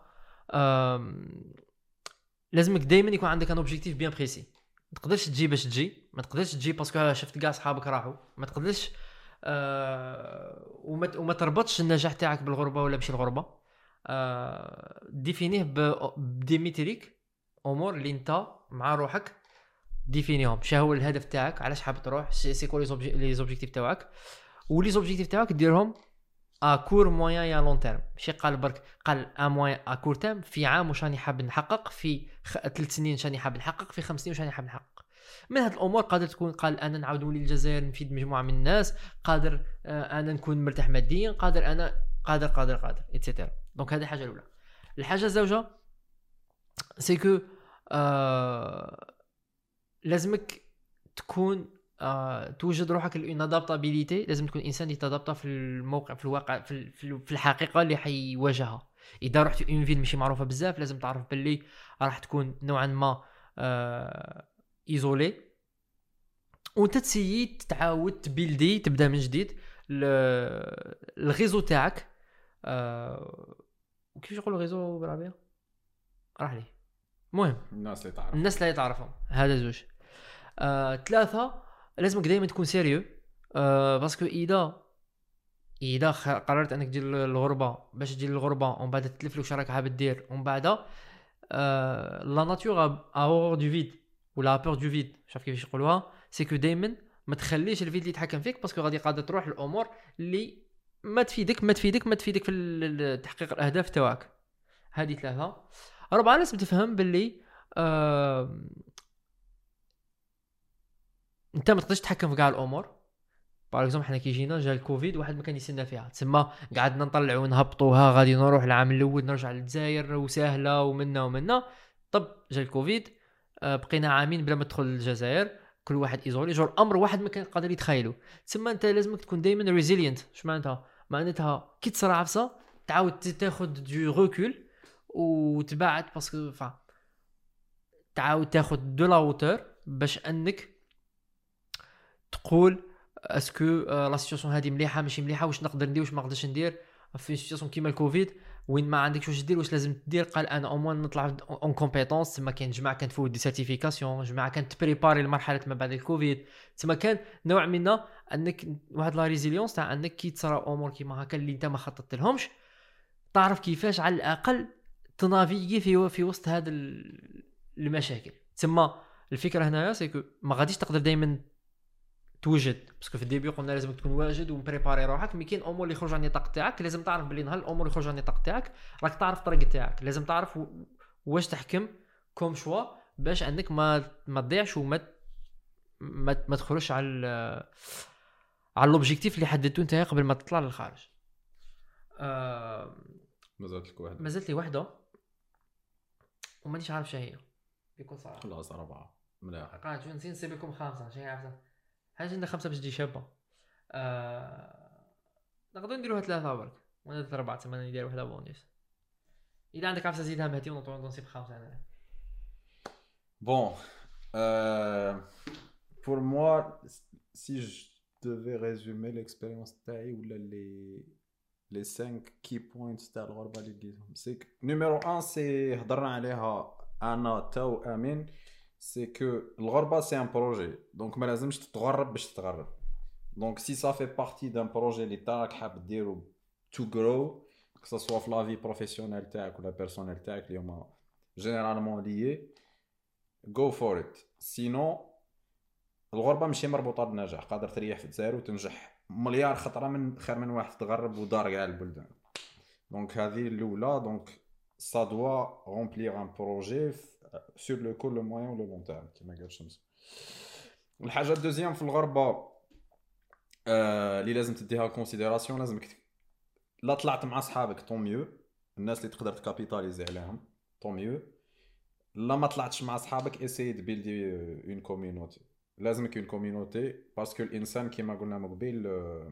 لازمك دائما يكون عندك ان اوبجيكتيف بيان بريسي. ما تقدرش تجي باش تجي ما تقدرش تجي باسكو شفت كاع صحابك راحوا ما تقدرش أه وما وما تربطش النجاح تاعك بالغربه ولا ماشي الغربه. أه ديفينيه بديميتريك امور اللي انت مع روحك ديفينيهم شنو هو الهدف تاعك علاش حاب تروح سي كو لي زوبجيكتيف تاعك ولي زوبجيكتيف تاعك ديرهم ا كور موين يا لون تيرم ماشي قال برك قال ا موين ا كور تيرم في عام واش راني حاب نحقق في ثلاث سنين واش راني حاب نحقق في خمس سنين واش راني حاب نحقق. من هاد الامور قادر تكون قال انا نعاود نولي للجزائر نفيد مجموعه من الناس قادر انا نكون مرتاح ماديا قادر انا قادر قادر قادر ايتترا. دونك هذه الحاجه الاولى. الحاجه الزوجه سي كو آه لازمك تكون آه توجد روحك اون ادابتابيليتي لازم تكون انسان يتادابتا في الموقع في الواقع في, في الحقيقه اللي حيواجهها. اذا رحت اون فيل ماشي معروفه بزاف لازم تعرف باللي راح تكون نوعا ما آه ايزولي وانت تسيي تعاود تبيلدي تبدا من جديد الغيزو تاعك أه... كيفاش يقولوا غيزو بالعربيه راح لي المهم الناس اللي تعرف الناس اللي تعرفهم هذا زوج. أه... ثلاثه لازمك دائما تكون سيريو أه... باسكو اذا اذا قررت انك تجي للغربه باش تجي للغربه ومن بعد تتلف لك شراك حاب دير ومن بعد لا ناتور ا هور دو فيد ولا بور دو فيد شاف كيفاش يقولوها سي كو دائما ما تخليش الفيد اللي يتحكم فيك باسكو غادي قاعده تروح الامور اللي ما تفيدك ما تفيدك ما تفيدك في تحقيق الاهداف تاعك. هذه ثلاثه. رابعه لازم تفهم باللي آه... انت ما تقدرش تتحكم في كاع الامور. باغ اكزومبل حنا كي جينا جا الكوفيد واحد ما كان يستنى فيها تسمى قعدنا نطلعوا نهبطوها غادي نروح العام الاول نرجع للجزائر وسهله ومنا ومنا. طب جا الكوفيد آه بقينا عامين بلا ما تدخل الجزائر كل واحد ايزولي جو الامر واحد ما كان قادر يتخيلوا. تسمى انت لازمك تكون دائما ريزيلينت. اش معناتها؟ معناتها كي تصرى عفسه تعاود تاخذ دو ريكول وتبعد باسكو فا تعاود تاخذ دو لا هوتور باش انك تقول اسكو لا سيتواسيون هذه مليحه ماشي مليحه واش نقدر ندير واش ما نقدرش ندير في سيتواسيون كيما الكوفيد وين ما عندكش واش دير واش لازم تدير. قال انا او موان نطلع اون كومبيتونس. تما كاين جماعه كانت تفوت دي سيرتيفيكاسيون جماعه كانت تبريباري لمرحله ما بعد الكوفيد. تما كان نوع من انك واحد لا ريزيليونس تاع انك كي تصرا امور كيما هكا اللي انت ما خططت لهمش تعرف كيفاش على الاقل تنافيغي في في وسط هذا المشاكل. تما الفكره هنايا سيكو ما غاديش تقدر دائما توجد باسكو في الديبي قلنا لازم تكون واجد ومبريباري روحك. مي كاين امور اللي يخرج عن النطاق تاعك لازم تعرف بلي نهار الامور اللي يخرج عن النطاق تاعك راك تعرف الطريق تاعك. لازم تعرف واش تحكم كوم شوا باش انك ما ما تضيعش وما ما, ما تخرجش على على لوبجيكتيف اللي حددته انت قبل ما تطلع للخارج. آه مازالت لك واحده مازالت لي واحده ومانيش عارف شنو هي بكل صراحه. خلاص اربعه مليح قاعد نسين نسيب لكم خمسه شنو عارفه حاجه عندنا خمسه باش تجي شابه. آه... نقدر نديروها ثلاثه برك ولا اربعه ثمانيه ندير واحده بونيس. اذا عندك عفسه زيدها مهدي ونطلعوا نصيب خمسه انا. Bon, euh, pour moi, si je devais résumer l'expérience تاعي ولا les les cinq key points تاع الغربة اللي لقيتهم c'est que numéro un c'est هضرنا عليها انا تا وامين c'est que الغربة c'est un projet donc ما لازمش تتغرب باش تتغرب. donc si ça fait partie d'un projet اللي تاعك حاب ديرو to grow que ça soit في la vie professionnelle تاعك ولا personnelle تاعك اللي هما généralement liés go for it. sinon الغربة ماشي مربوطة بالنجاح. قادر تريح في الجزائر وتنجح مليار خطرة من خير من واحد تغرب ودار كاع البلدان. دونك هذه الأولى. دونك ça doit remplir un projet sur le court le moyen ou le long terme كما قال شمس. الحاجة الدوزيام في الغربة اللي لازم تديها كونسيديراسيون لازمك لا طلعت مع صحابك طون ميو الناس اللي تقدر تكابيتاليزي عليهم طون ميو. لا ما طلعتش مع صحابك اساي تبيلدي اون كوميونيتي. لازمك اون كوميونيتي باسكو الانسان كما قلنا من قبل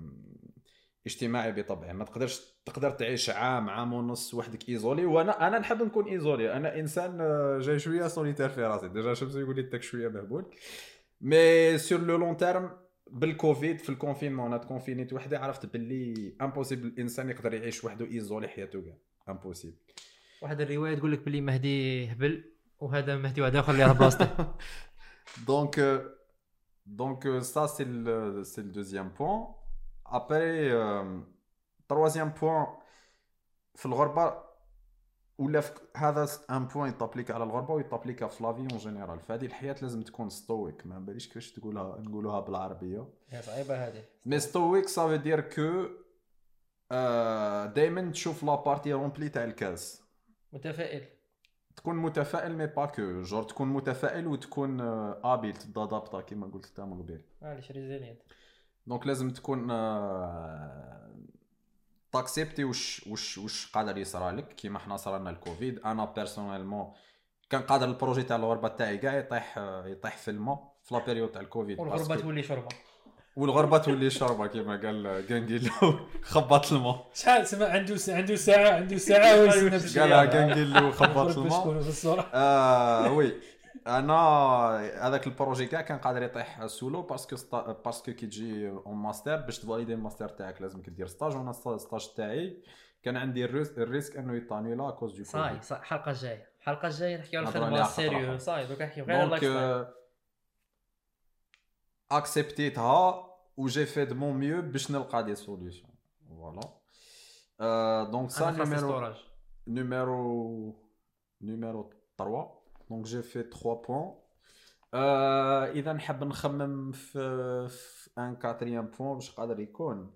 اجتماعي بطبعه. ما تقدرش تقدر تعيش عام عام ونص وحدك ايزولي. وانا انا نحب نكون ايزولي. انا انسان جاي شويه سوليتير في راسي ديجا شمس يقول لي تاك شويه مهبول. مي سور لو لون تيرم بالكوفيد في الكونفينمون انا تكونفينيت وحدي عرفت باللي امبوسيبل الانسان يقدر يعيش وحده ايزولي حياته كاع امبوسيبل. واحد الروايه تقول لك باللي مهدي هبل وهذا مهدي واحد اخر اللي على بلاصته. دونك دونك ça c'est le c'est le deuxième point. après euh, troisième point في الغربه ولا هذا ان بوين يطابليك على الغربه ويطابليك في لافي اون جينيرال. في هذه الحياه لازم تكون ستويك. ما باليش كيفاش تقولها نقولوها بالعربيه هي صعيبه هذه. مي ستويك ça veut dire que دائما تشوف لا بارتي رومبلي تاع الكاس. متفائل تكون متفائل مي با كو جور تكون متفائل وتكون ابيل تدادابطا كيما قلت انت من قبل. معليش ريزيلينت. دونك لازم تكون تاكسبتي واش واش واش قادر يصرى لك. كيما حنا صرالنا الكوفيد انا بيرسونيلمون كان قادر البروجي تاع الغربه تاعي كاع يطيح يطيح في الماء في لا بيريود تاع الكوفيد. والغربه تولي شربه والغربه تولي شربه كيما قال كانغيلو خبط الماء. شحال سما عنده عنده ساعه عنده ساعه ويسنى قالها كانغيلو خبط الماء. اه وي انا هذاك البروجي كاع كان قادر يطيح سولو باسكو ستا... باسكو كي تجي اون ماستر باش تفاليدي الماستر تاعك لازمك دير ستاج. وانا الستاج تاعي كان عندي الريسك انه يطاني لا كوز دو صاي صاي. الحلقه الجايه الحلقه الجايه نحكيو على الخدمه سيريو صاي دوك نحكيو غير على اللايف ستايل. اكسبتيتها و جي في دو مون ميو باش نلقى دي سوليوشن فوالا. دونك سا نيميرو نيميرو نيميرو trois. Donc j'ai fait trois points. Euh, اذا نحب نخمم في, في ان quatrième point باش قادر يكون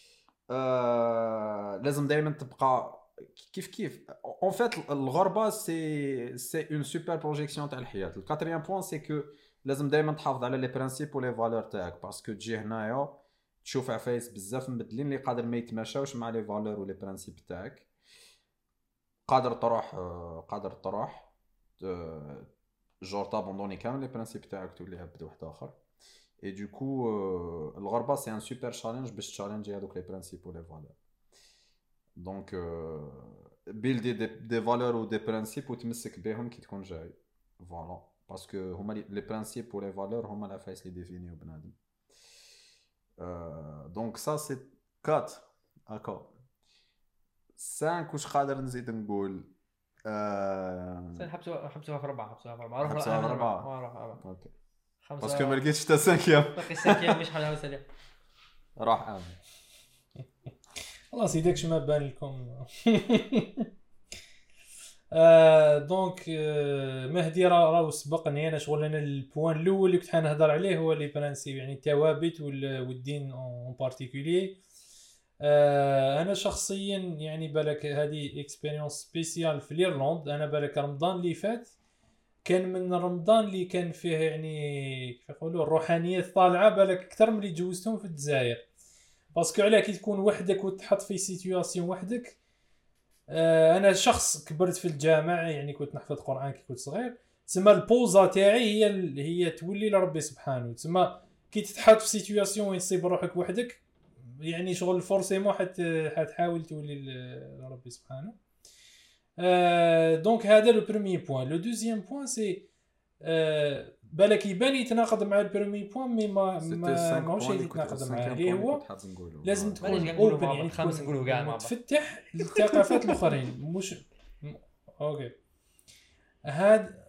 آه لازم دائما تبقى كيف كيف. en fait الغربه سي سي اون سوبر بروجيكسيون تاع الحياه. الكاتريام بوين سي كو لازم دائما تحافظ على لي برينسيپ ولي فالور تاعك باسكو تجي هنايا تشوف عفايس بزاف مبدلين اللي قادر ما يتماشاوش مع لي فالور ولي برينسيپ تاعك. قادر تروح قادر تروح جور تابوندوني كامل لي برينسيپ تاعك تولي عبد واحد اخر. اي دو كو الغربه سي ان سوبر تشالنج باش تشالنجي هذوك لي برينسيپ ولي فالور. دونك بيلدي دي دي فالور و دي برينسيپ وتمسك بهم كي تكون جاي فوالا باسكو هما لي برينسيپ و لي فالور هما العفايس اللي ديفينيو بنادم. دونك سا سي quatre هكا. cinq واش قادر نزيد نقول سن حبسوها حبسوها في أربعة حبسوها في أربعة حبسوها في أربعة أربعة اوكي خمسة باسكو ما لقيتش حتى سانكيام باقي السانكيام مش حاجة سريع راح امن خلاص يداكش ما بان لكم. آه دونك آه مهدي راه راهو سبقني انا شغل انا البوان الاول اللي كنت حنهضر عليه هو لي برانسيب يعني الثوابت والدين اون بارتيكولير. آه انا شخصيا يعني بالك هذه اكسبيريونس سبيسيال في ايرلند. انا بالك رمضان اللي فات كان من رمضان اللي كان فيه يعني كيف يقولوا الروحانيه طالعه بالك اكثر من اللي جوزتهم في الجزائر باسكو علاه كي تكون وحدك وتحط في سيتوياسيون وحدك. آه انا شخص كبرت في الجامع يعني كنت نحفظ قران كي كنت صغير تسمى البوزا تاعي هي هي تولي لربي سبحانه. تسمى كي تتحط في سيتوياسيون وين تصيب روحك وحدك يعني شغل فورسيمون حت حتحاول تولي لربي سبحانه. آه دونك هذا لو بريمي بوين. لو دوزيام بوين سي آه بالك يبان يتناقض مع البريمي بوين مي ما ما ماهوش يتناقض معاه اللي هو لازم تكون اوبن يعني خامس نقولوا كاع مع تفتح للثقافات الاخرين مش اوكي هاد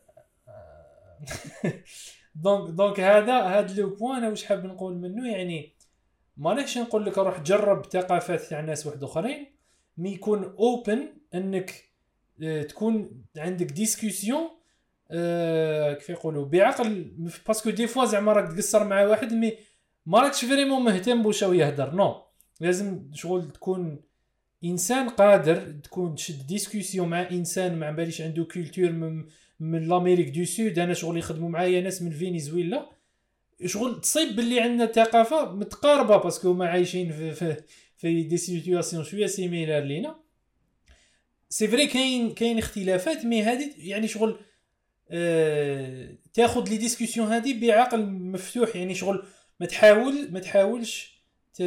دونك دونك هذا هاد لو بوين انا واش حاب نقول منه يعني مانيش نقول لك روح جرب ثقافات تاع ناس واحد اخرين مي يكون اوبن انك تكون عندك ديسكوسيون أه كيف يقولوا بعقل باسكو دي فوا زعما راك تقصر مع واحد مي ما راكش فريمون مهتم بوش هو يهدر نو لازم شغل تكون انسان قادر تكون تشد ديسكوسيون مع انسان ما باليش عنده كولتور من, من الامريك دو سود. انا شغل يخدموا معايا ناس من فنزويلا شغل تصيب باللي عندنا ثقافه متقاربه باسكو ما عايشين في في, في دي سيتوياسيون شويه سيميلار لينا. سي فري كاين كاين اختلافات مي هذه يعني شغل أه تاخذ لي ديسكوسيون هذه بعقل مفتوح يعني شغل ما تحاول ما تحاولش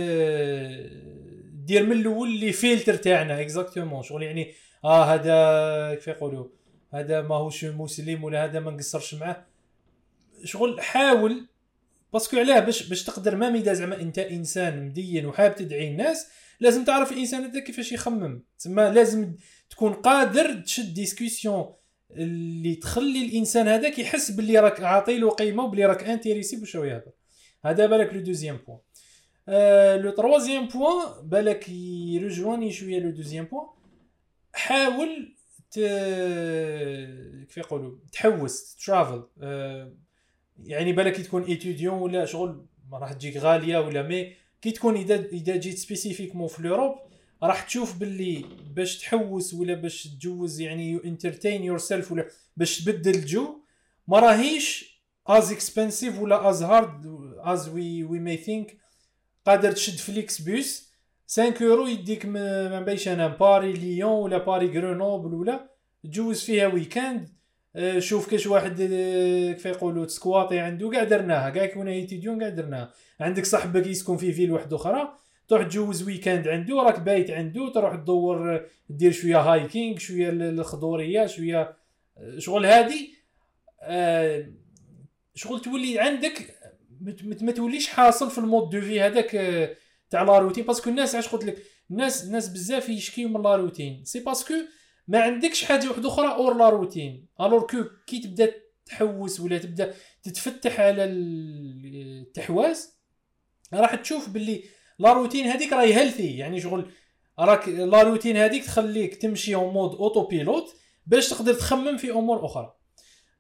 دير من الاول لي فلتر تاعنا اكزاكتومون شغل يعني اه هذا كيف يقولوا هذا ماهوش مسلم ولا هذا ما نقصرش معاه. شغل حاول باسكو علاه باش باش تقدر ما ميدا زعما انت انسان مدين وحاب تدعي الناس لازم تعرف الانسان هذا كيفاش يخمم. تسمى لازم تكون قادر تشد ديسكوسيون اللي تخلي الانسان هذاك يحس باللي راك عاطيله قيمه وبلي راك انتريسي باش هو يهضر. هذا بالك لو دوزيام بوين. آه لو تروازيام بوين بالك يرجواني شويه لو دوزيام بوين. حاول ت... كيف يقولوا تحوس ترافل. آه يعني بالك تكون ايتوديون ولا شغل ما راح تجيك غاليه ولا مي كي تكون اذا اذا جيت سبيسيفيكمون في لوروب راح تشوف باللي باش تحوس ولا باش تجوز يعني يو انترتين يور سيلف ولا باش تبدل الجو ما راهيش از اكسبنسيف ولا از هارد از وي وي ماي ثينك. قادر تشد فليكس بوس خمسة يورو يديك ما بايش انا باري ليون ولا باري غرونوبل ولا تجوز فيها ويكاند. شوف كاش واحد كيف يقولوا سكواطي عنده كاع درناها كاع كنا ايتيديون كاع درناها. عندك صاحبك يسكن في فيل واحده اخرى تروح تجوز ويكاند عنده راك بايت عنده تروح تدور دير شويه هايكينغ شويه الخضوريه شويه شغل هادي آه شغل تولي عندك ما توليش حاصل في المود دو في هذاك تاع لا روتين. باسكو الناس علاش قلت لك الناس الناس بزاف يشكيو من لا روتين سي باسكو ما عندكش حاجه واحده اخرى اور لا روتين. الور كو كي تبدا تحوس ولا تبدا تتفتح على التحواس راح تشوف باللي لا روتين هذيك راهي هيلثي يعني شغل راك لا روتين هذيك تخليك تمشي اون مود اوتو بيلوت باش تقدر تخمم في امور اخرى.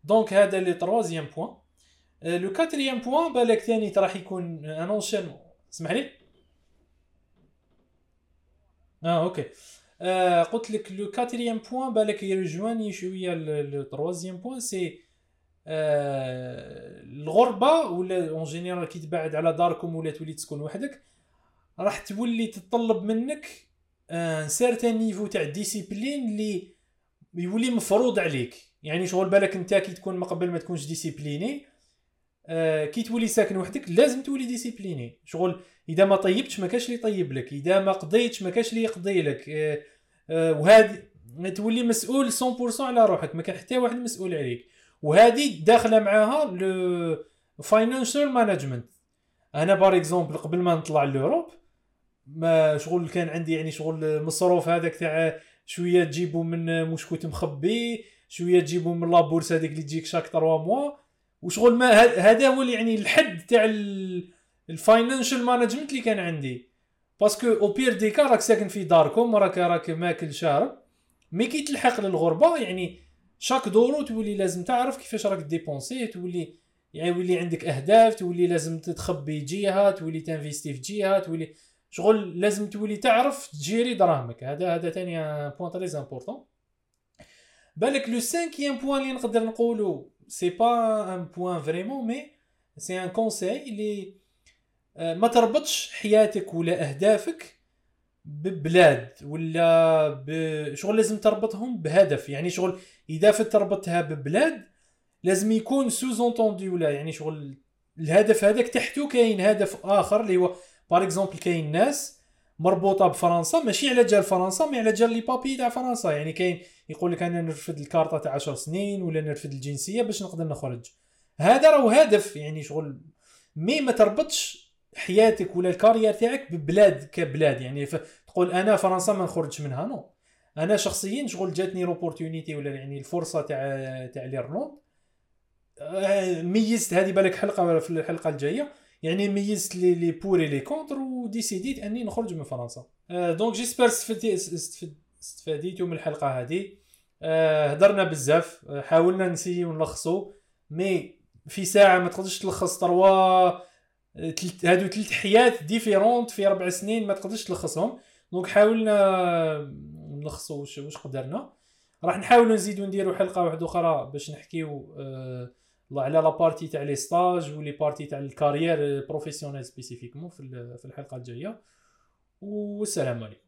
دونك هذا لي تروازيام بوين. لو كاتريام بوين بالك ثاني راح يكون ان اونشين. اسمح لي. اه اوكي. آه قلت لك لو كاتريام بوين بالك يرجواني شويه لو تروازيام بوين سي آه الغربه ولا اون جينيرال كي تبعد على داركم ولا تولي تسكن وحدك راح تولي تطلب منك ان سيرتان نيفو تاع ديسيبلين اللي يولي مفروض عليك. يعني شغل بالك انت كي تكون ما قبل ما تكونش ديسيبليني آه كي تولي ساكن وحدك لازم تولي ديسيبليني. شغل اذا ما طيبتش ما كاش اللي يطيب لك، اذا ما قضيتش ما كاش اللي يقضي لك. آه آه وهذه تولي مسؤول مية بالمية على روحك، ما كان حتى واحد مسؤول عليك. وهذه داخله معاها لو فاينانشال مانجمنت. انا بار اكزومبل قبل ما نطلع لوروب ما شغل كان عندي يعني شغل مصروف هذاك تاع شويه تجيبوا من مشكوت مخبي، شويه تجيبوا من لابورس هذيك اللي تجيك شاك ثلاثة موا، وشغل ما هذا هو اللي يعني الحد تاع الفاينانشال مانجمنت اللي كان عندي. باسكو او بير دي كا راك ساكن في داركم راك راك ماكل شارب، مي كي تلحق للغربه يعني شاك دورو تولي لازم تعرف كيفاش راك ديبونسي، تولي يعني يولي عندك اهداف، تولي لازم تتخبي جهه، تولي تنفيستي في جهه، تولي شغل لازم تولي تعرف تجيري دراهمك. هذا هذا ثاني بوين تري امبورطون. بالك لو خامسيام بوين اللي نقدر نقولو سي با ان بوين فريمون مي سي ان كونساي اللي ما تربطش حياتك ولا اهدافك ببلاد ولا بشغل، لازم تربطهم بهدف. يعني شغل اذا تربطها ببلاد لازم يكون سوز اونتوندي ولا يعني شغل الهدف هذاك تحته كاين هدف اخر اللي هو بار اكزومبل كاين ناس مربوطه بفرنسا ماشي على جال فرنسا مي على جال لي بابي تاع فرنسا. يعني كاين يقول لك انا نرفد الكارطه تاع عشر سنين ولا نرفد الجنسيه باش نقدر نخرج. هذا راهو هدف يعني شغل، مي ما تربطش حياتك ولا الكارير تاعك ببلاد كبلاد. يعني تقول انا فرنسا ما نخرجش منها، نو. انا شخصيا شغل جاتني لوبورتونيتي ولا يعني الفرصه تاع تاع ليرلند، ميزت هذه بالك حلقه في الحلقه الجايه يعني ميزت لي لي بوري لي كونتر وديسيديت اني نخرج من فرنسا. أه دونك جيسبر استفديتوا من الحلقه هذه. أه هضرنا بزاف، حاولنا نسيو نلخصوا مي في ساعه ما تقدرش تلخص تروا هادو ثلاث حيات ديفيرونت في اربع سنين ما تقدرش تلخصهم. دونك حاولنا نلخصوا واش واش قدرنا. راح نحاولوا نزيدوا نديروا حلقه واحده اخرى باش نحكيو أه على لا بارتي تاع لي ستاج ولي بارتي تاع الكارير بروفيسيونيل سبيسيفيكمون في الحلقه الجايه. والسلام عليكم.